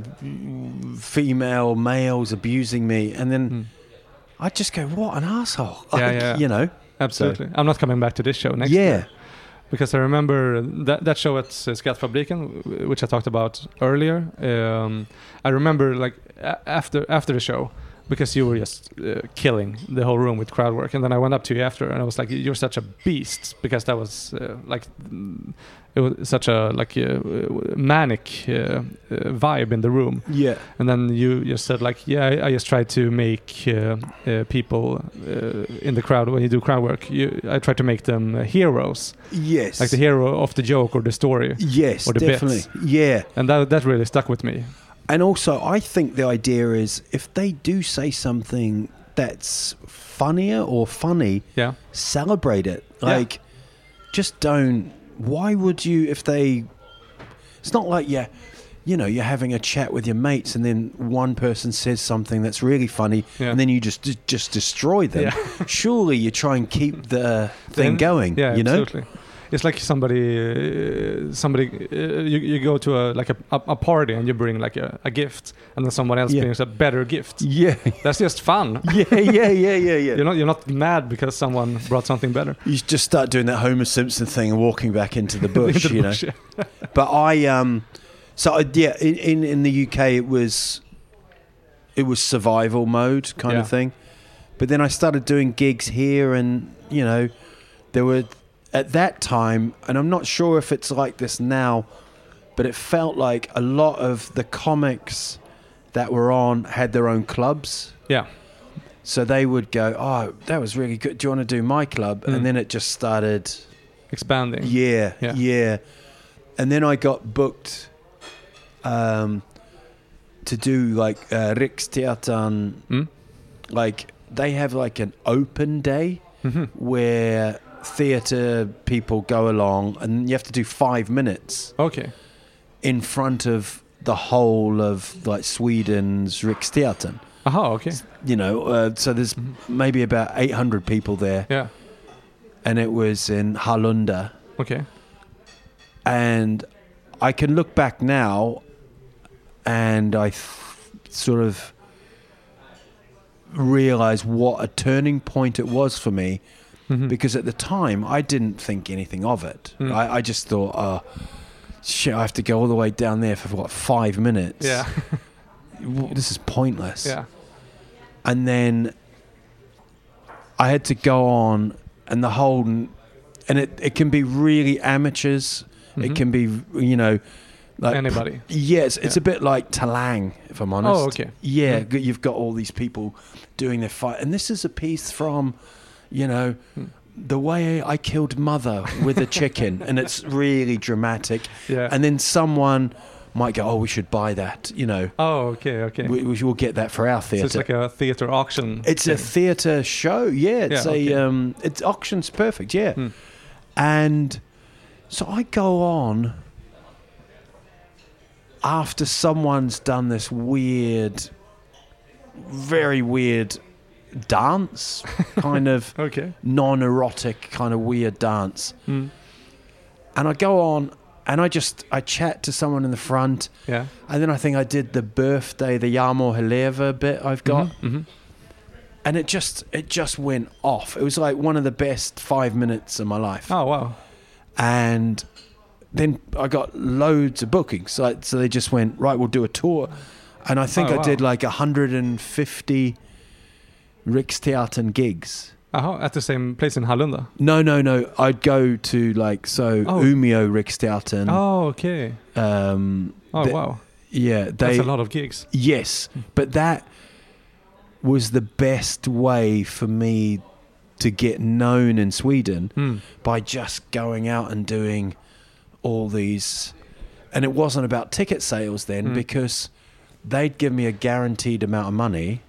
males abusing me, and then I'd just go, what an asshole. Absolutely. So. I'm not coming back to this show next year. Because I remember that show at Skrattfabriken, which I talked about earlier. I remember like after the show, because you were just killing the whole room with crowd work. And then I went up to you after and I was like, you're such a beast, because that was it was such a manic vibe in the room. Yeah. And then you just said like, I just try to make people in the crowd, when you do crowd work, I try to make them heroes. Yes. Like the hero of the joke or the story. Yes, or the definitely. Bits. Yeah. And that really stuck with me. And also, I think the idea is if they do say something that's funnier or funny, celebrate it. Like, just don't. Why would you, if they... It's not like you're having a chat with your mates and then one person says something that's really funny and then you just destroy them. Yeah. Surely you try and keep the thing going, absolutely. It's like you go to a party and you bring like a gift, and then someone else brings a better gift. Yeah. That's just fun. Yeah. You're not mad because someone brought something better. You just start doing that Homer Simpson thing and walking back into the bush, Into the you bush, know. yeah. But in the UK it was survival mode kind of thing. But then I started doing gigs here, and you know, there were at that time, and I'm not sure if it's like this now, but it felt like a lot of the comics that were on had their own clubs. Yeah. So they would go, "Oh, that was really good. Do you want to do my club?" And then it just started expanding. Yeah. And then I got booked to do like Riksteatern. Like they have like an open day where theatre people go along, and you have to do 5 minutes. Okay. In front of the whole of like Sweden's Riksteatern. Okay. You know, so there's maybe about 800 people there. Yeah. And it was in Hallunda. Okay. And I can look back now, and I sort of realize what a turning point it was for me, because at the time I didn't think anything of it. I just thought, oh, shit, I have to go all the way down there for what, 5 minutes? Yeah. This is pointless. Yeah. And then I had to go on, and the whole, and it can be really amateurs. It can be, you know, like anybody. Yes, it's a bit like Talang, if I'm honest. Oh, okay. Yeah, you've got all these people doing their fight, and this is a piece from, you know, the way I killed mother with a chicken, and it's really dramatic. Yeah. And then someone might go, "Oh, we should buy that," you know. Oh, okay. We will get that for our theatre. So it's like a theatre auction. It's a theatre show, yeah. It's it's auction's perfect, yeah. And so I go on after someone's done this weird, very weird dance, kind of non-erotic, kind of weird dance. And I go on, and I chat to someone in the front. Yeah. And then I think I did the birthday, the Jarmo Heleva bit I've got. And it just went off. It was like one of the best 5 minutes of my life. Oh, wow. And then I got loads of bookings. So they just went, right, we'll do a tour. And I think I did like 150 Riksteatern gigs. At the same place in Hallunda? No. I'd go to Umeå Riksteatern. Oh, okay. Wow. Yeah. That's a lot of gigs. Yes. But that was the best way for me to get known in Sweden, by just going out and doing all these. And it wasn't about ticket sales then, because they'd give me a guaranteed amount of money.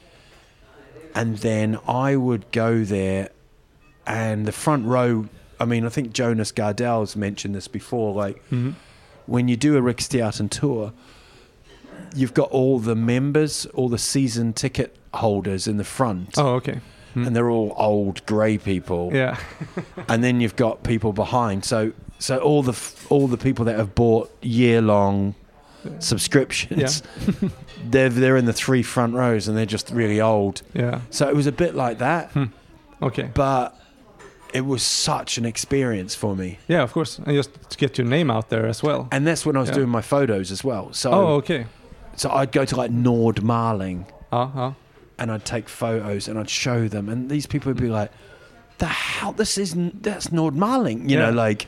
And then I would go there, and the front row, I mean, I think Jonas Gardell's mentioned this before, like when you do a Riksteatern tour, you've got all the members, all the season ticket holders in the front. Oh, okay. And they're all old grey people. Yeah. And then you've got people behind. So all the people that have bought year-long subscriptions, they're in the 3 front rows, and they're just really old. Yeah. So it was a bit like that. Okay. But it was such an experience for me. Yeah, of course. And just to get your name out there as well. And that's when I was doing my photos as well. So okay. So I'd go to like Nordmaling. Uh-huh. And I'd take photos and I'd show them, and these people would be like, "The hell? That's Nordmaling," you know, like.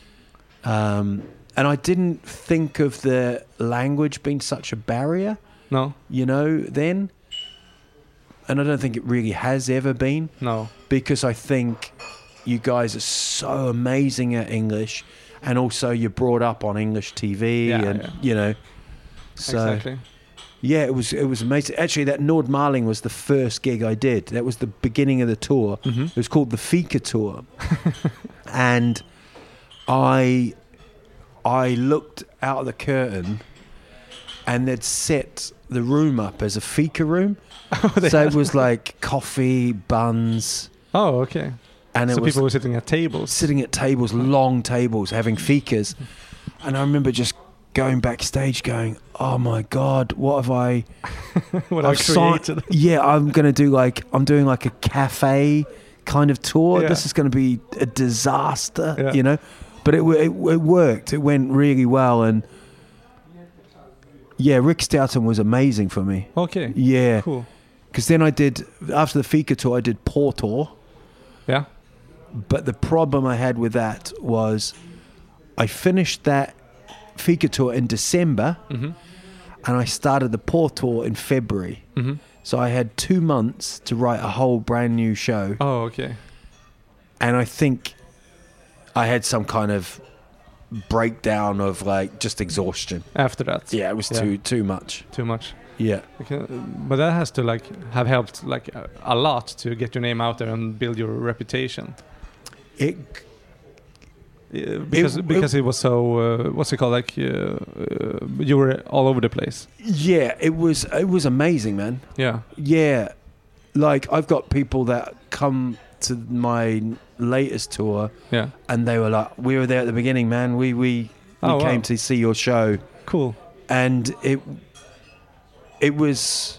And I didn't think of the language being such a barrier. No. You know, then. And I don't think it really has ever been. No. Because I think you guys are so amazing at English, and also you're brought up on English TV, you know. So, exactly. Yeah, it was amazing. Actually, that Nordmaling was the first gig I did. That was the beginning of the tour. It was called the Fika Tour. And I looked out of the curtain, and they'd set the room up as a fika room. So it was like coffee, buns. Oh, okay. And So it was people were sitting at tables. sitting at tables, long tables, having fikas. And I remember just going backstage going, oh my God, what have I... What I created. I'm doing like a cafe kind of tour. Yeah. This is going to be a disaster, Yeah. you know? But it worked. It went really well. And yeah, Rick Stoughton was amazing for me. Okay. Yeah. Cool. Because then after the Fika tour, I did Porto. Yeah. But the problem I had with that was I finished that Fika tour in December Mm-hmm. and I started the Porto in February. Mm-hmm. So I had 2 months to write a whole brand new show. Oh, okay. And I think I had some kind of breakdown of like just exhaustion. After that. Yeah, it was too much. Too much. Yeah. Okay. But that has to like have helped like a lot to get your name out there and build your reputation. It Because it was so what's it called, like you were all over the place. yeah, it was amazing, man. Yeah. Yeah. Like I've got people that come to my latest tour Yeah. and they were like, we were there at the beginning, man. We Oh, came wow. to see your show. Cool. And it was,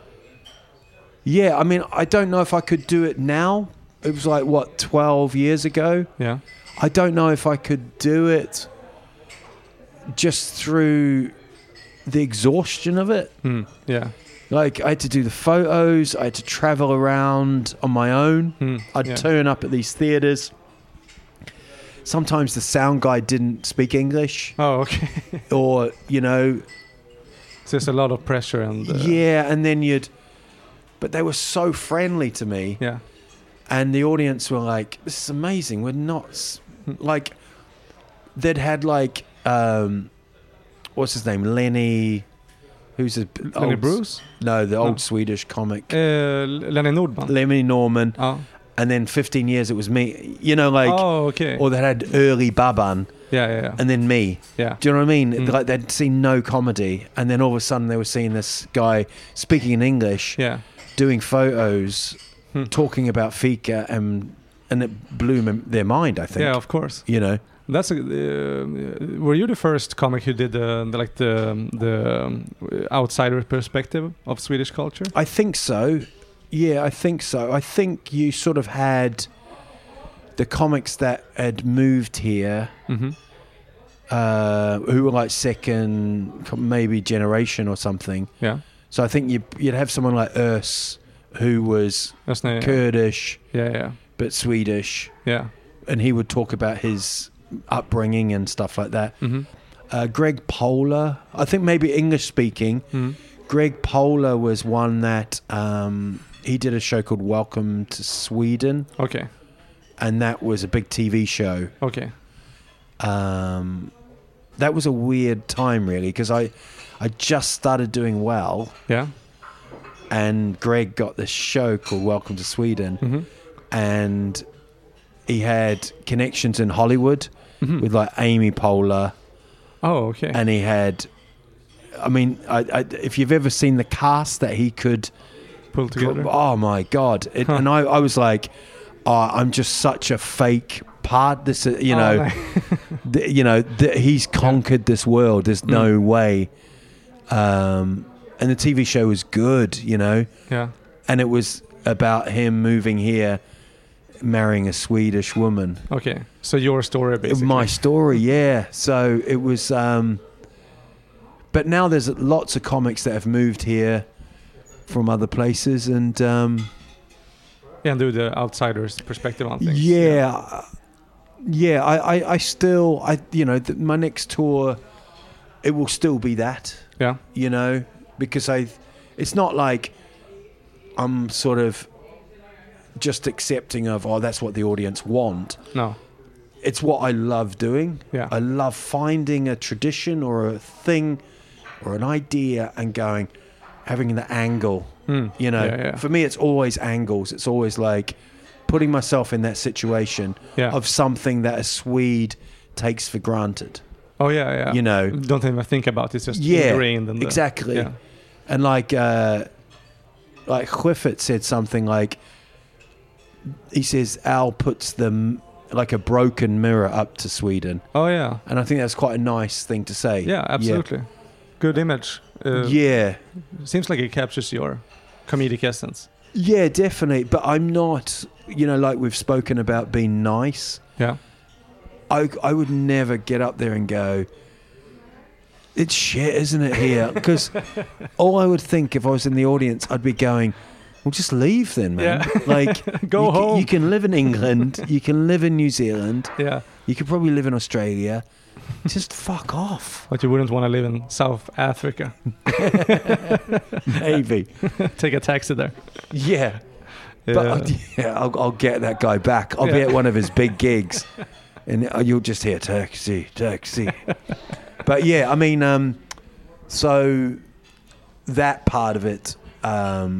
yeah, I mean, I don't know if I could do it now. It was like, what, 12 years ago? Yeah. I don't know if I could do it just through the exhaustion of it. Yeah. Like, I had to do the photos. I had to travel around on my own. I'd turn up at these theaters. Sometimes the sound guy didn't speak English. Oh, okay. Or, you know... So there's a lot of pressure and... yeah, and then but they were so friendly to me. Yeah. And the audience were like, this is amazing. We're not... Like, they'd had like... what's his name? Lenny... Who's a... Lenny Bruce? No, the old Swedish comic. Lenny Nordman. Lenny Norman. Oh. And then 15 years it was me. You know, like... Oh, okay. Or they had early Baban. Yeah. And then me. Yeah. Do you know what I mean? Like they'd seen no comedy. And then all of a sudden they were seeing this guy speaking in English. Yeah. Doing photos. Talking about Fika. And it blew their mind, I think. Yeah, of course. You know? That's were you the first comic who did the outsider perspective of Swedish culture? I think so. Yeah, I think so. I think you sort of had the comics that had moved here, Mm-hmm. who were like second, maybe generation or something. Yeah. So I think you'd have someone like Urs, who was Kurdish, but Swedish. Yeah. And he would talk about his upbringing and stuff like that. Mm-hmm. Greg Polar, I think maybe English speaking. Mm-hmm. Greg Polar was one that he did a show called Welcome to Sweden. Okay. And that was a big TV show. Okay. That was a weird time, really, because I just started doing well. Yeah. And Greg got this show called Welcome to Sweden. Mm-hmm. And he had connections in Hollywood with like Amy Poehler. Oh, okay. And he had, I mean, if you've ever seen the cast that he could pull together. Oh my God. And I was like, I'm just such a fake part. This, you know, he's conquered this world. There's no way. And the TV show was good, you know. Yeah. And it was about him moving here, marrying a Swedish woman. Okay. So your story, basically. My story, yeah. So it was... but now there's lots of comics that have moved here from other places and... and do the outsider's perspective on things. Yeah. Yeah, I still... you know, my next tour, it will still be that. Yeah. You know, because it's not like I'm sort of just accepting of, that's what the audience want. No. It's what I love doing. Yeah. I love finding a tradition or a thing or an idea and having the angle, you know. Yeah. For me, it's always angles. It's always like putting myself in that situation of something that a Swede takes for granted. Oh, yeah. You know. Don't even think about it. It's just ingrained. In exactly. Yeah. And like Clifford said something like, he says Al puts them like a broken mirror up to Sweden. Oh yeah. And I think that's quite a nice thing to say. Yeah, absolutely. Good image. Yeah. Seems like it captures your comedic essence. Yeah, definitely. But I'm not, like we've spoken about being nice. Yeah. I would never get up there and go, it's shit, isn't it, here? Because all I would think if I was in the audience, I'd be going, well, just leave then, man. Yeah. Like, Go home. You can live in England. You can live in New Zealand. Yeah. You could probably live in Australia. Just fuck off. But you wouldn't want to live in South Africa. Maybe. Take a taxi there. Yeah. But I'll get that guy back. I'll be at one of his big gigs. And you'll just hear taxi. But yeah, I mean, so that part of it, I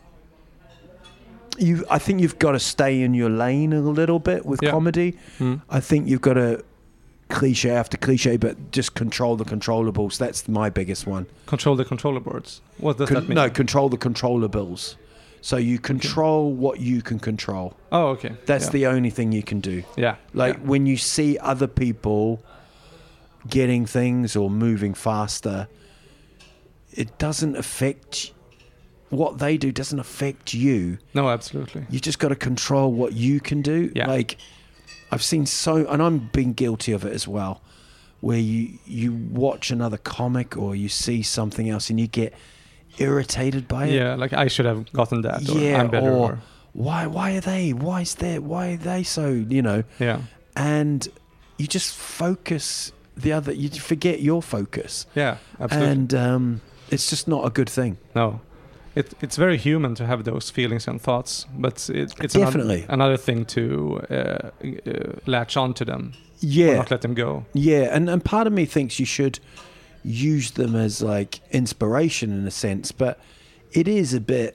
think you've got to stay in your lane a little bit with comedy. I think you've got to cliche after cliche, but just control the controllables. That's my biggest one. Control the controllables. What does that mean? No, control the controllables. So you control what you can control. Oh, okay. That's the only thing you can do. Yeah. Like when you see other people getting things or moving faster, it doesn't affect what they do. Doesn't affect you. No, absolutely. You just got to control what you can do. Yeah. Like I've seen and I'm being guilty of it as well, where you watch another comic or you see something else and you get irritated by it. Yeah, like I should have gotten that. Or I'm better. Or why are they? Why are they so? Yeah. And you just focus you forget your focus. Yeah, absolutely. And it's just not a good thing. No. It's very human to have those feelings and thoughts, but it's definitely another thing to latch on to them. Yeah. Or not let them go. Yeah, and part of me thinks you should use them as like inspiration in a sense, but it is a bit,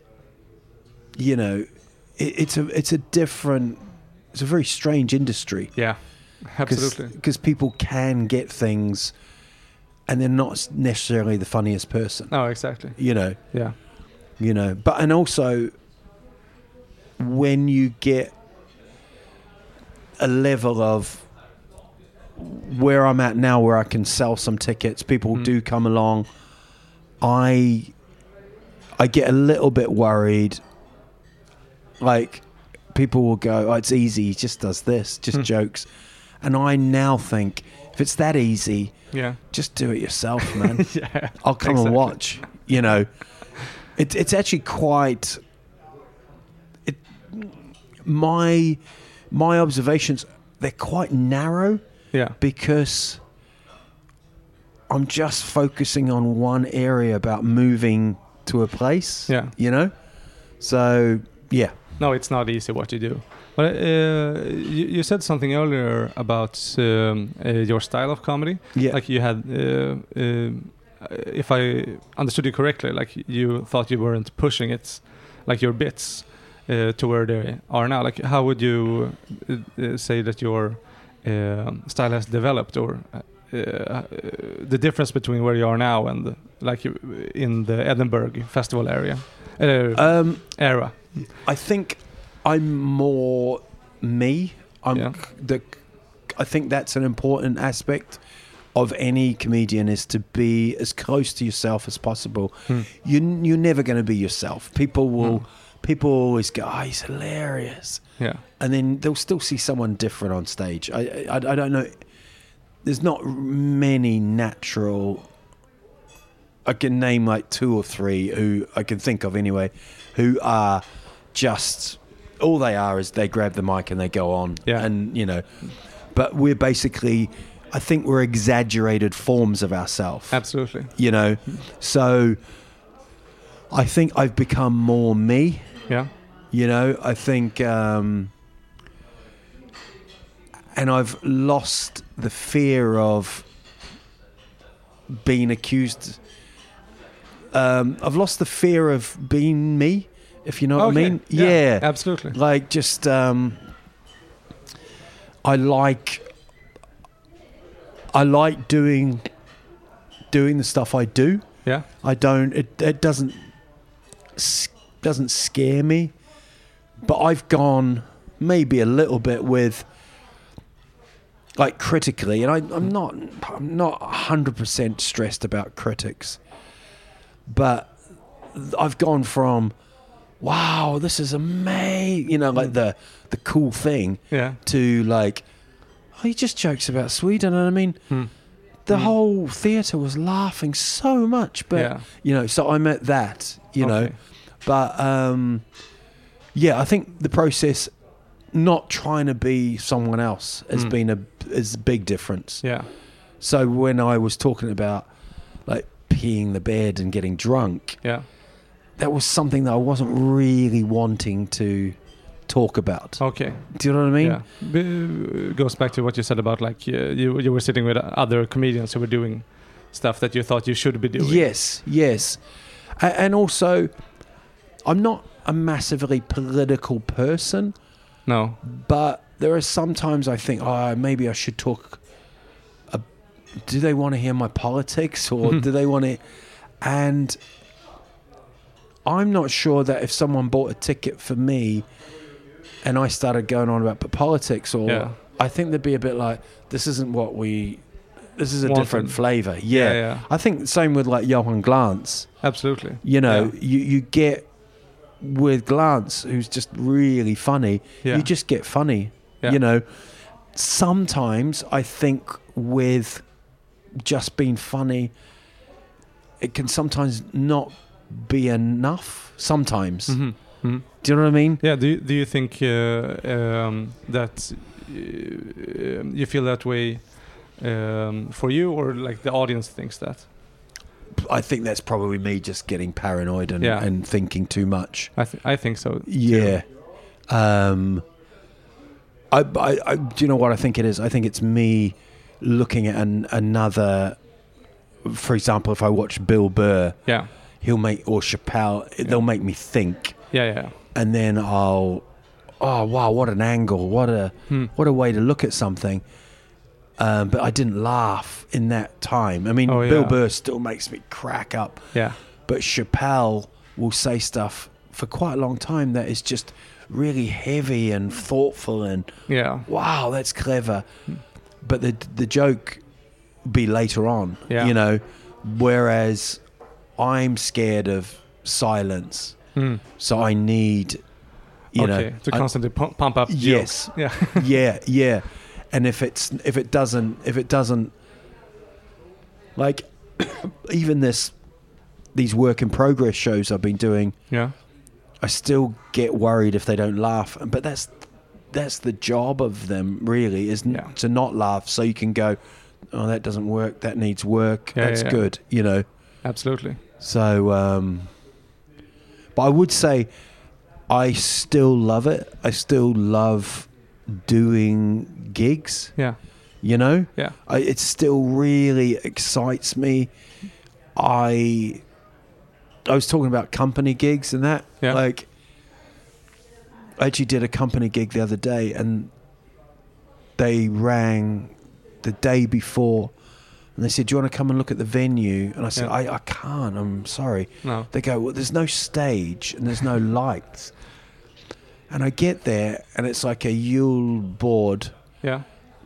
it's a very strange industry. Yeah, absolutely. Because people can get things and they're not necessarily the funniest person. Oh, exactly. Yeah. But and also when you get a level of where I'm at now, where I can sell some tickets, people do come along, I get a little bit worried. Like people will go, oh, it's easy, he just does this, just jokes. And I now think, if it's that easy, just do it yourself, man. Yeah, I'll come and watch. It's actually quite. My observations, they're quite narrow. Yeah. Because I'm just focusing on one area about moving to a place. Yeah. So yeah. No, it's not easy what you do. But you said something earlier about your style of comedy. Yeah. Like you had, if I understood you correctly, like you thought you weren't pushing it, like your bits, to where they are now. Like how would you say that your style has developed, or the difference between where you are now and like in the Edinburgh festival area era? I think I'm more me. I think that's an important aspect of any comedian, is to be as close to yourself as possible. You're never going to be yourself. People always go, oh, he's hilarious. Yeah. And then they'll still see someone different on stage. I don't know. There's not many natural. I can name like 2 or 3 who I can think of anyway, who are just, all they are is they grab the mic and they go on. Yeah. And, but we're basically, I think we're exaggerated forms of ourselves. Absolutely. So I think I've become more me. Yeah. I think, and I've lost the fear of being accused. I've lost the fear of being me, if you know what I mean. Yeah, absolutely. Like just, I like doing the stuff I do. Yeah. I don't. It doesn't scare me. But I've gone maybe a little bit with, like, critically, and I'm not 100% stressed about critics, but I've gone from, wow, this is amazing, you know, like the cool thing, to like, oh, he just jokes about Sweden, and I mean, the whole theatre was laughing so much, but you know, so I'm at that, you know, but yeah, I think the process, not trying to be someone else, has been a big difference. Yeah. So when I was talking about like peeing the bed and getting drunk, that was something that I wasn't really wanting to talk about. Okay. Do you know what I mean? Yeah. Goes back to what you said about like you were sitting with other comedians who were doing stuff that you thought you should be doing. Yes. And also, I'm not a massively political person. No. But there are sometimes I think, oh, maybe I should talk. Do they want to hear my politics, or do they want to? And I'm not sure that if someone bought a ticket for me and I started going on about politics, or I think they'd be a bit like, this isn't what this is a different flavour. Yeah. I think the same with like Johan Glans. Absolutely. You know, you get with Glans, who's just really funny, you just get funny. You know, sometimes I think with just being funny, it can sometimes not be enough sometimes. Do you know what I mean? Yeah. Do you think that you feel that way for you, or like the audience thinks that? I think that's probably me just getting paranoid and thinking too much. I think so. Yeah. Do you know what I think it is? I think it's me looking at another. For example, if I watch Bill Burr, he'll make, or Chappelle, they'll make me think. Yeah. And then oh wow, what an angle, what a way to look at something. But I didn't laugh in that time. I mean, Bill Burr still makes me crack up. Yeah. But Chappelle will say stuff for quite a long time that is just really heavy and thoughtful and wow, that's clever. But the joke be later on, you know, whereas I'm scared of silence. So I need, you know, to constantly pump up. Yes. Jokes. Yeah. And if it doesn't, like, even these work in progress shows I've been doing, I still get worried if they don't laugh. But that's the job of them, really, is to not laugh, so you can go, oh, that doesn't work, that needs work, that's good, you know. Absolutely. So, but I would say I still love it. I still love doing gigs. Yeah. You know? Yeah. It still really excites me. I was talking about company gigs and that. Yeah. Like, I actually did a company gig the other day, and they rang the day before and they said, do you want to come and look at the venue? And I said, I can't, I'm sorry. No. They go, well, there's no stage and there's no lights. And I get there and it's like a Yule board. Yeah.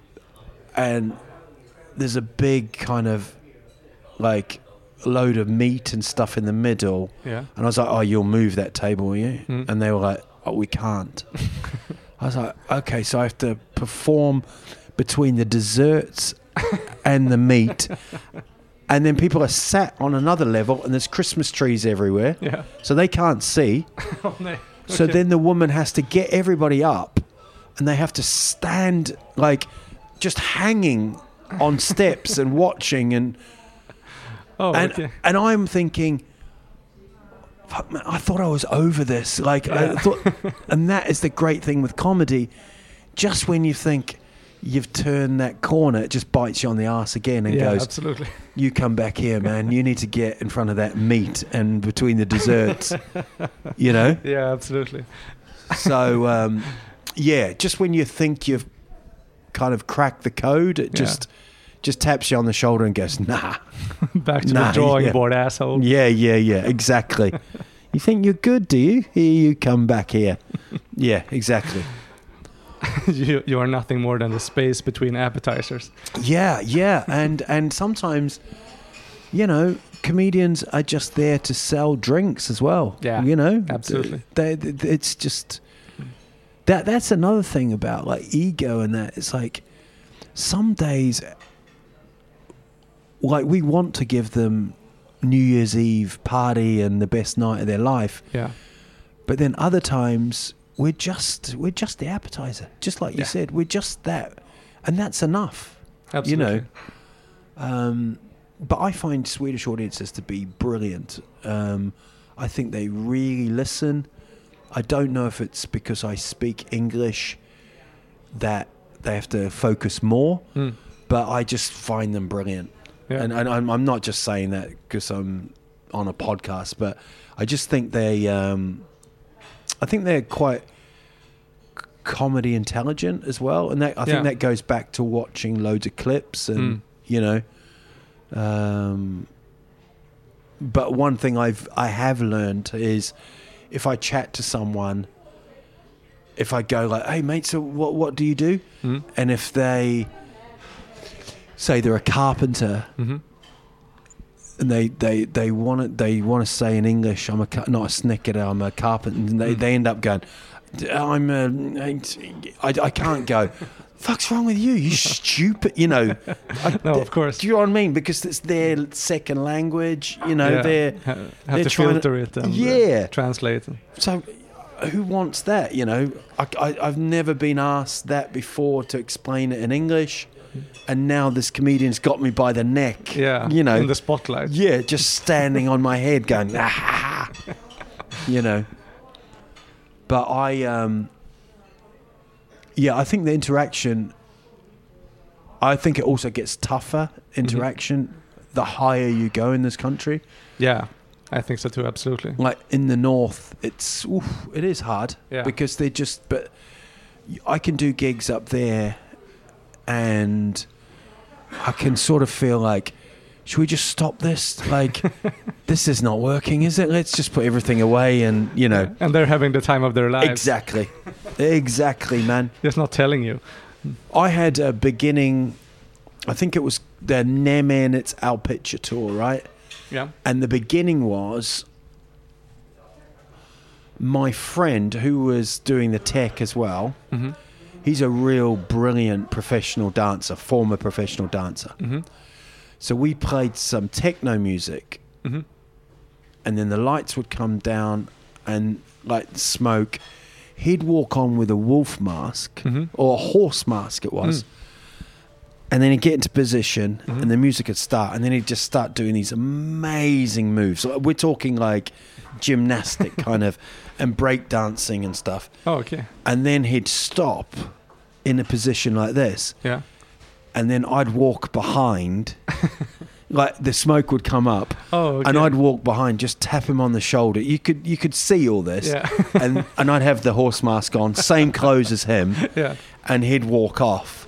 And there's a big kind of like load of meat and stuff in the middle. Yeah. And I was like, oh, you'll move that table, will you? And they were like, oh, we can't. I was like, okay, so I have to perform between the desserts and the meat. And then people are sat on another level and there's Christmas trees everywhere. Yeah. So they can't see. Oh, no. Okay. So then the woman has to get everybody up and they have to stand like just hanging on steps and watching and and I'm thinking, fuck, man, I thought I was over this. Like I thought, and that is the great thing with comedy. Just when you think you've turned that corner, it just bites you on the arse again and goes, absolutely. You come back here, man. You need to get in front of that meat and between the desserts, you know? Yeah, absolutely. So, just when you think you've kind of cracked the code, it just taps you on the shoulder and goes, nah. Back to the drawing board, asshole. Yeah, exactly. You think you're good, do you? Here you come back here. Yeah, exactly. you are nothing more than the space between appetizers. Yeah, and sometimes, comedians are just there to sell drinks as well. Yeah, absolutely. It's just that's another thing about like ego and that. It's like some days, like we want to give them New Year's Eve party and the best night of their life. Yeah. But then other times we're just the appetizer, just like you said. We're just that, and that's enough. Absolutely. But I find Swedish audiences to be brilliant. I think they really listen. I don't know if it's because I speak English that they have to focus more, but I just find them brilliant. Yeah. And I'm not just saying that because I'm on a podcast, but I just think they're quite comedy intelligent as well, and I think that goes back to watching loads of clips and but one thing I have learned is if I chat to someone, if I go like, "Hey mate, so what do you do?" And if they say they're a carpenter, and they want to say in English, "I'm not a snicker, I'm a carpenter," and they end up going, I can't go. Fuck's wrong with you? You stupid. No, of course. Do you know what I mean? Because it's their second language. They're have to filter it and translate it. So, who wants that? I've never been asked that before to explain it in English, and now this comedian's got me by the neck. Yeah, in the spotlight. Yeah, just standing on my head, going, But I think the interaction, I think it also gets tougher, interaction, the higher you go in this country. Yeah, I think so too, absolutely. Like in the north, it is hard because but I can do gigs up there and I can sort of feel like, should we just stop this? Like, this is not working, is it? Let's just put everything away and, And they're having the time of their lives. Exactly, man. Just not telling you. I had a beginning, I think it was the Nemen, it's Our Picture tour, right? Yeah. And the beginning was my friend who was doing the tech as well. Mm-hmm. He's a real brilliant former professional dancer. Mm-hmm. So we played some techno music, and then the lights would come down and like smoke. He'd walk on with a wolf mask or a horse mask it was. And then he'd get into position and the music would start, and then he'd just start doing these amazing moves. So we're talking like gymnastic kind of and break dancing and stuff. Oh, okay. And then he'd stop in a position like this. Yeah. And then I'd walk behind, like the smoke would come up, and I'd walk behind, just tap him on the shoulder. You could see all this, and I'd have the horse mask on, same clothes as him, and he'd walk off.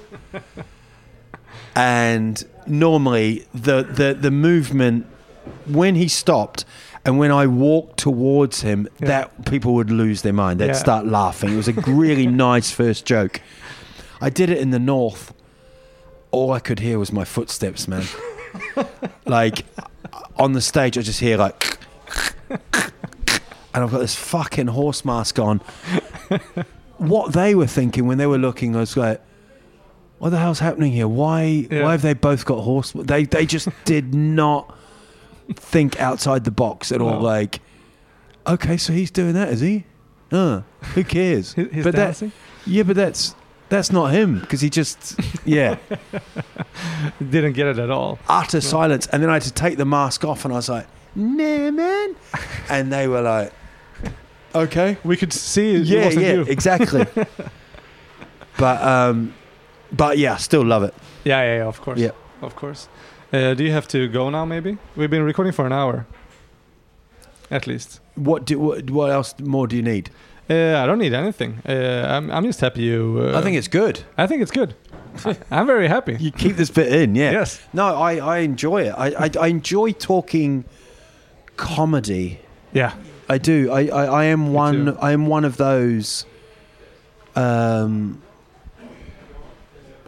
And normally the movement, when he stopped and when I walked towards him, that people would lose their mind. They'd start laughing. It was a really nice first joke. I did it in the north. All I could hear was my footsteps, man. Like, on the stage, I just hear like... and I've got this fucking horse mask on. What they were thinking when they were looking, I was like, what the hell's happening here? Why have they both got horse... They just did not think outside the box at all. Like, okay, so he's doing that, is he? Who cares? He's dancing? But that's not him, because he just, didn't get it at all. Utter silence. And then I had to take the mask off, and I was like, nah, man. And they were like, okay. We could see it. It wasn't you. Exactly. But yeah, still love it. Yeah, of course. Yeah. Of course. Do you have to go now, maybe? We've been recording for an hour. At least. What else more do you need? I don't need anything. I'm just happy you... I think it's good. I think it's good. I'm very happy. You keep this bit in, yeah. Yes. No, I enjoy it. I enjoy talking comedy. Yeah. I do. I am one of those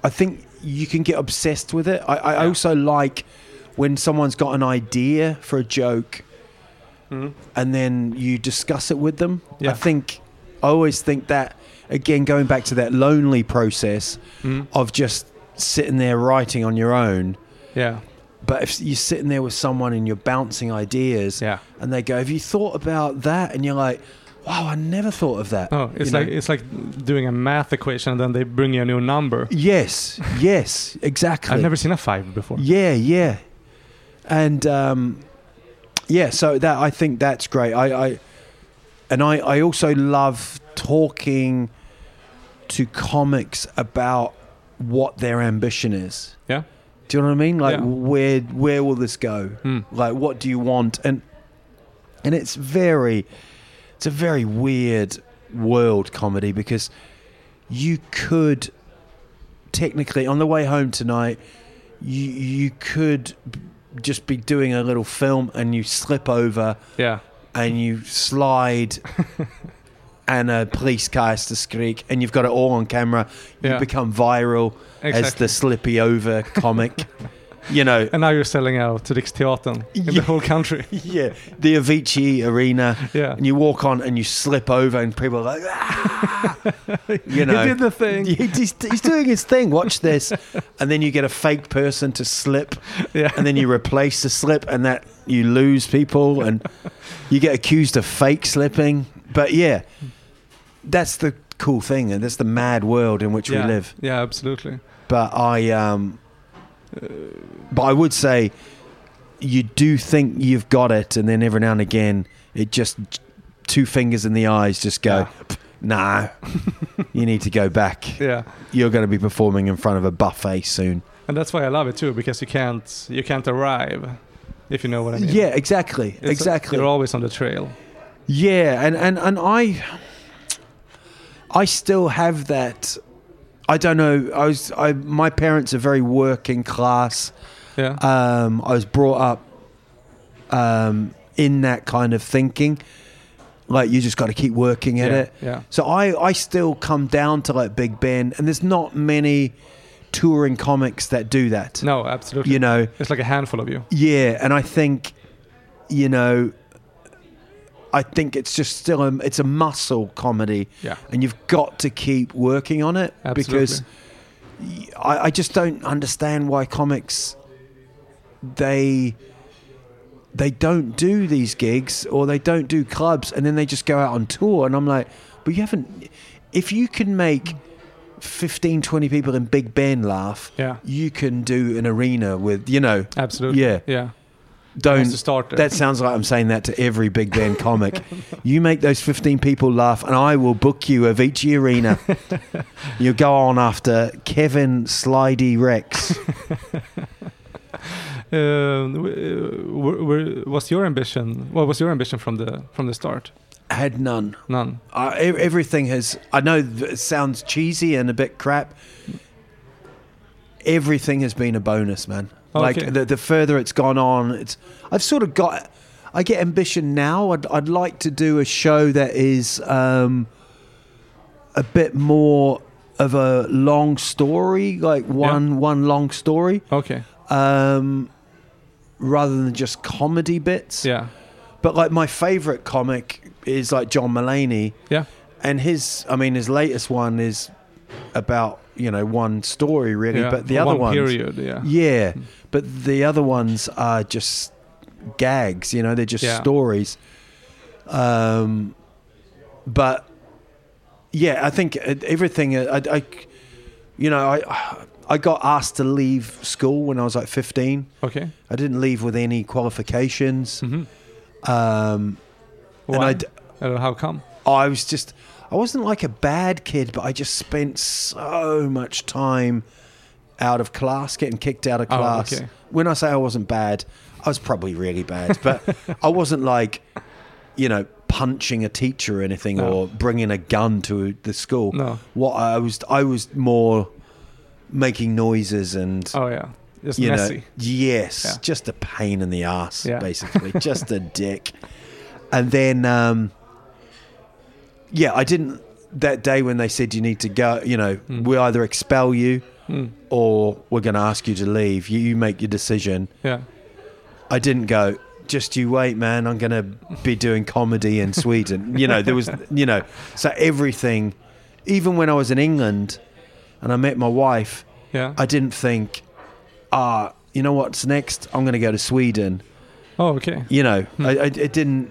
I think you can get obsessed with it. I also like when someone's got an idea for a joke and then you discuss it with them. Yeah. I always think that, again, going back to that lonely process of just sitting there writing on your own. Yeah. But if you're sitting there with someone and you're bouncing ideas and they go, have you thought about that? And you're like, wow, I never thought of that. Oh, it's like doing a math equation and then they bring you a new number. Yes, exactly. I've never seen a 5 before. Yeah. And so that I think that's great. I also love talking to comics about what their ambition is. Yeah. Do you know what I mean? Like, where will this go? Like, what do you want? And it's a very weird world, comedy, because you could technically, on the way home tonight, you could just be doing a little film and you slip over and you slide and a police car has to skrik and you've got it all on camera. You become viral as the slippy over comic. You know, and now you're selling out to Riksteatern in the whole country. Yeah, the Avicii Arena. Yeah, and you walk on and you slip over, and people are like, ah! You know, he did the thing. He's doing his thing. Watch this, and then you get a fake person to slip, and then you replace the slip, and that you lose people, and you get accused of fake slipping. But yeah, that's the cool thing, and that's the mad world in which we live. Yeah, absolutely. But But I would say you do think you've got it, and then every now and again, it just 2 fingers in the eyes just go, nah, you need to go back. Yeah, you're going to be performing in front of a buffet soon. And that's why I love it too, because you can't arrive, if you know what I mean. Yeah, exactly. You're always on the trail. Yeah, and I still have that. I don't know. My parents are very working class. Yeah. I was brought up in that kind of thinking. Like, you just got to keep working at it. Yeah. So I still come down to like Big Ben, and there's not many touring comics that do that. No, absolutely. You know, it's like a handful of you. Yeah, and I think, you know, it's just still it's a muscle comedy. Yeah. And you've got to keep working on it. Absolutely. Because I just don't understand why comics, they don't do these gigs, or they don't do clubs, and then they just go out on tour. And I'm like, but you haven't, if you can make 15, 20 people in Big Ben laugh, you can do an arena with, you know. Absolutely. Yeah. Don't start there. That sounds like I'm saying that to every Big Ben comic. You make those 15 people laugh, and I will book you Avicii Arena. You go on after Kevin Slidey Rex. What's your ambition? What was your ambition from the start? I had none. None. Everything has. I know it sounds cheesy and a bit crap. Everything has been a bonus, man. Okay. Like the further it's gone on, I've sort of got. I get ambition now. I'd like to do a show that is a bit more of a long story, like one long story. Okay. Rather than just comedy bits. Yeah. But like my favorite comic is like John Mulaney. Yeah. And his latest one is about, you know, one story really, but the other ones, period, but the other ones are just gags, you know, they're just stories. But yeah, I think everything. I got asked to leave school when I was like 15. Okay. I didn't leave with any qualifications. Mm-hmm. Why? And how come? I wasn't like a bad kid, but I just spent so much time out of class, getting kicked out of class. Okay. When I say I wasn't bad, I was probably really bad, but I wasn't like, you know, punching a teacher or anything, or bringing a gun to the school. No. What I was more making noises and just messy. Know, yes, just a pain in the ass, basically, just a dick. And then, I didn't. That day when they said you need to go, you know, we either expel you or we're going to ask you to leave. You make your decision. Yeah. I didn't go, just you wait, man. I'm going to be doing comedy in Sweden. There was, so everything, even when I was in England and I met my wife, I didn't think, you know what's next? I'm going to go to Sweden. Oh, okay. I didn't,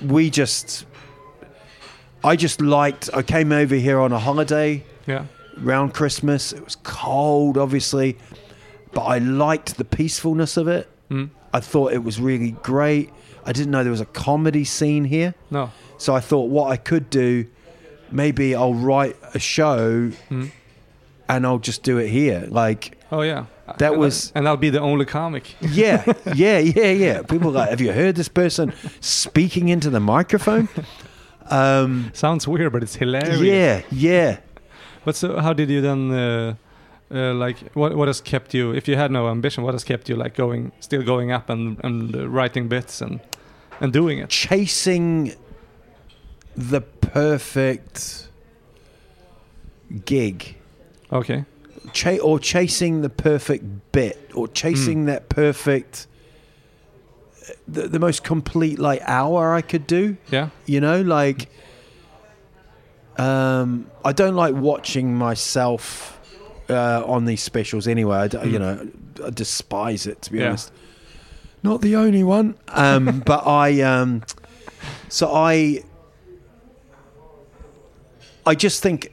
I came over here on a holiday. Yeah. Around Christmas. It was cold, obviously, but I liked the peacefulness of it. I thought it was really great. I didn't know there was a comedy scene here. No. So I thought what I could do, maybe I'll write a show and I'll just do it here. Like, oh yeah, and I'll be the only comic. Yeah. People are like, have you heard this person speaking into the microphone? Sounds weird, but it's hilarious. Yeah. But so, how did you then? What has kept you? If you had no ambition, what has kept you still going up and writing bits and doing it? Chasing the perfect gig. Okay. Or chasing the perfect bit, or chasing that perfect, the most complete hour I could do. Yeah. I don't like watching myself on these specials anyway. I despise it, to be honest. Not the only one, but I just think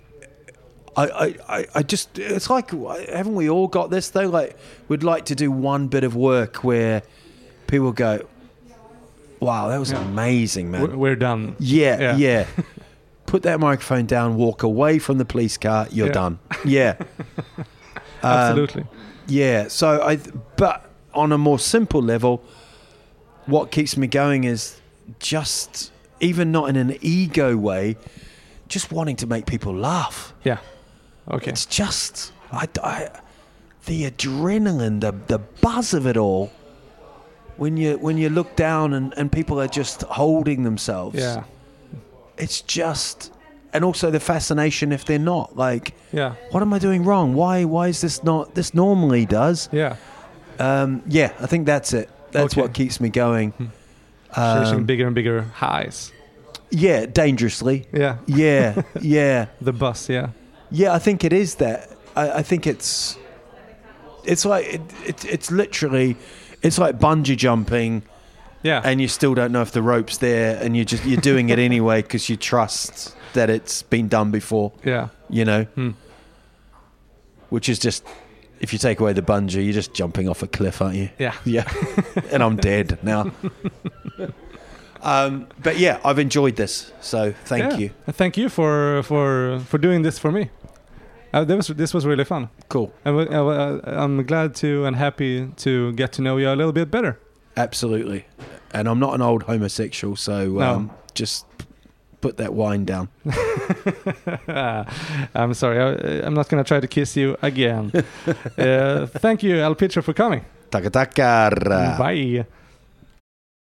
I just, it's like, haven't we all got this though? Like, we'd like to do one bit of work where people go, wow, that was amazing, man. We're done. Yeah. Put that microphone down, walk away from the police car, you're done. Yeah. Absolutely. So but on a more simple level, what keeps me going is just, even not in an ego way, just wanting to make people laugh. Yeah. Okay. It's just, the adrenaline, the buzz of it all, when you look down and people are just holding themselves. Yeah. It's just, and also the fascination if they're not, like, what am I doing wrong? Why is this not, this normally does? Yeah. I think that's it. That's what keeps me going. Chasing bigger and bigger highs. Yeah, dangerously. Yeah. Yeah. The bus, yeah. Yeah, I think it is that. I think it's like, it's literally, it's like bungee jumping. Yeah. And you still don't know if the rope's there, and you're doing it anyway because you trust that it's been done before. Yeah. Which is just, if you take away the bungee, you're just jumping off a cliff, aren't you? Yeah. Yeah. And I'm dead now. But yeah, I've enjoyed this, so thank you. Thank you for doing this for me. This was really fun. Cool. I'm glad to and happy to get to know you a little bit better. Absolutely. And I'm not an old homosexual, so just put that wine down. I'm sorry. I'm not going to try to kiss you again. Thank you, Al Pitcher, for coming. Tackar. Bye.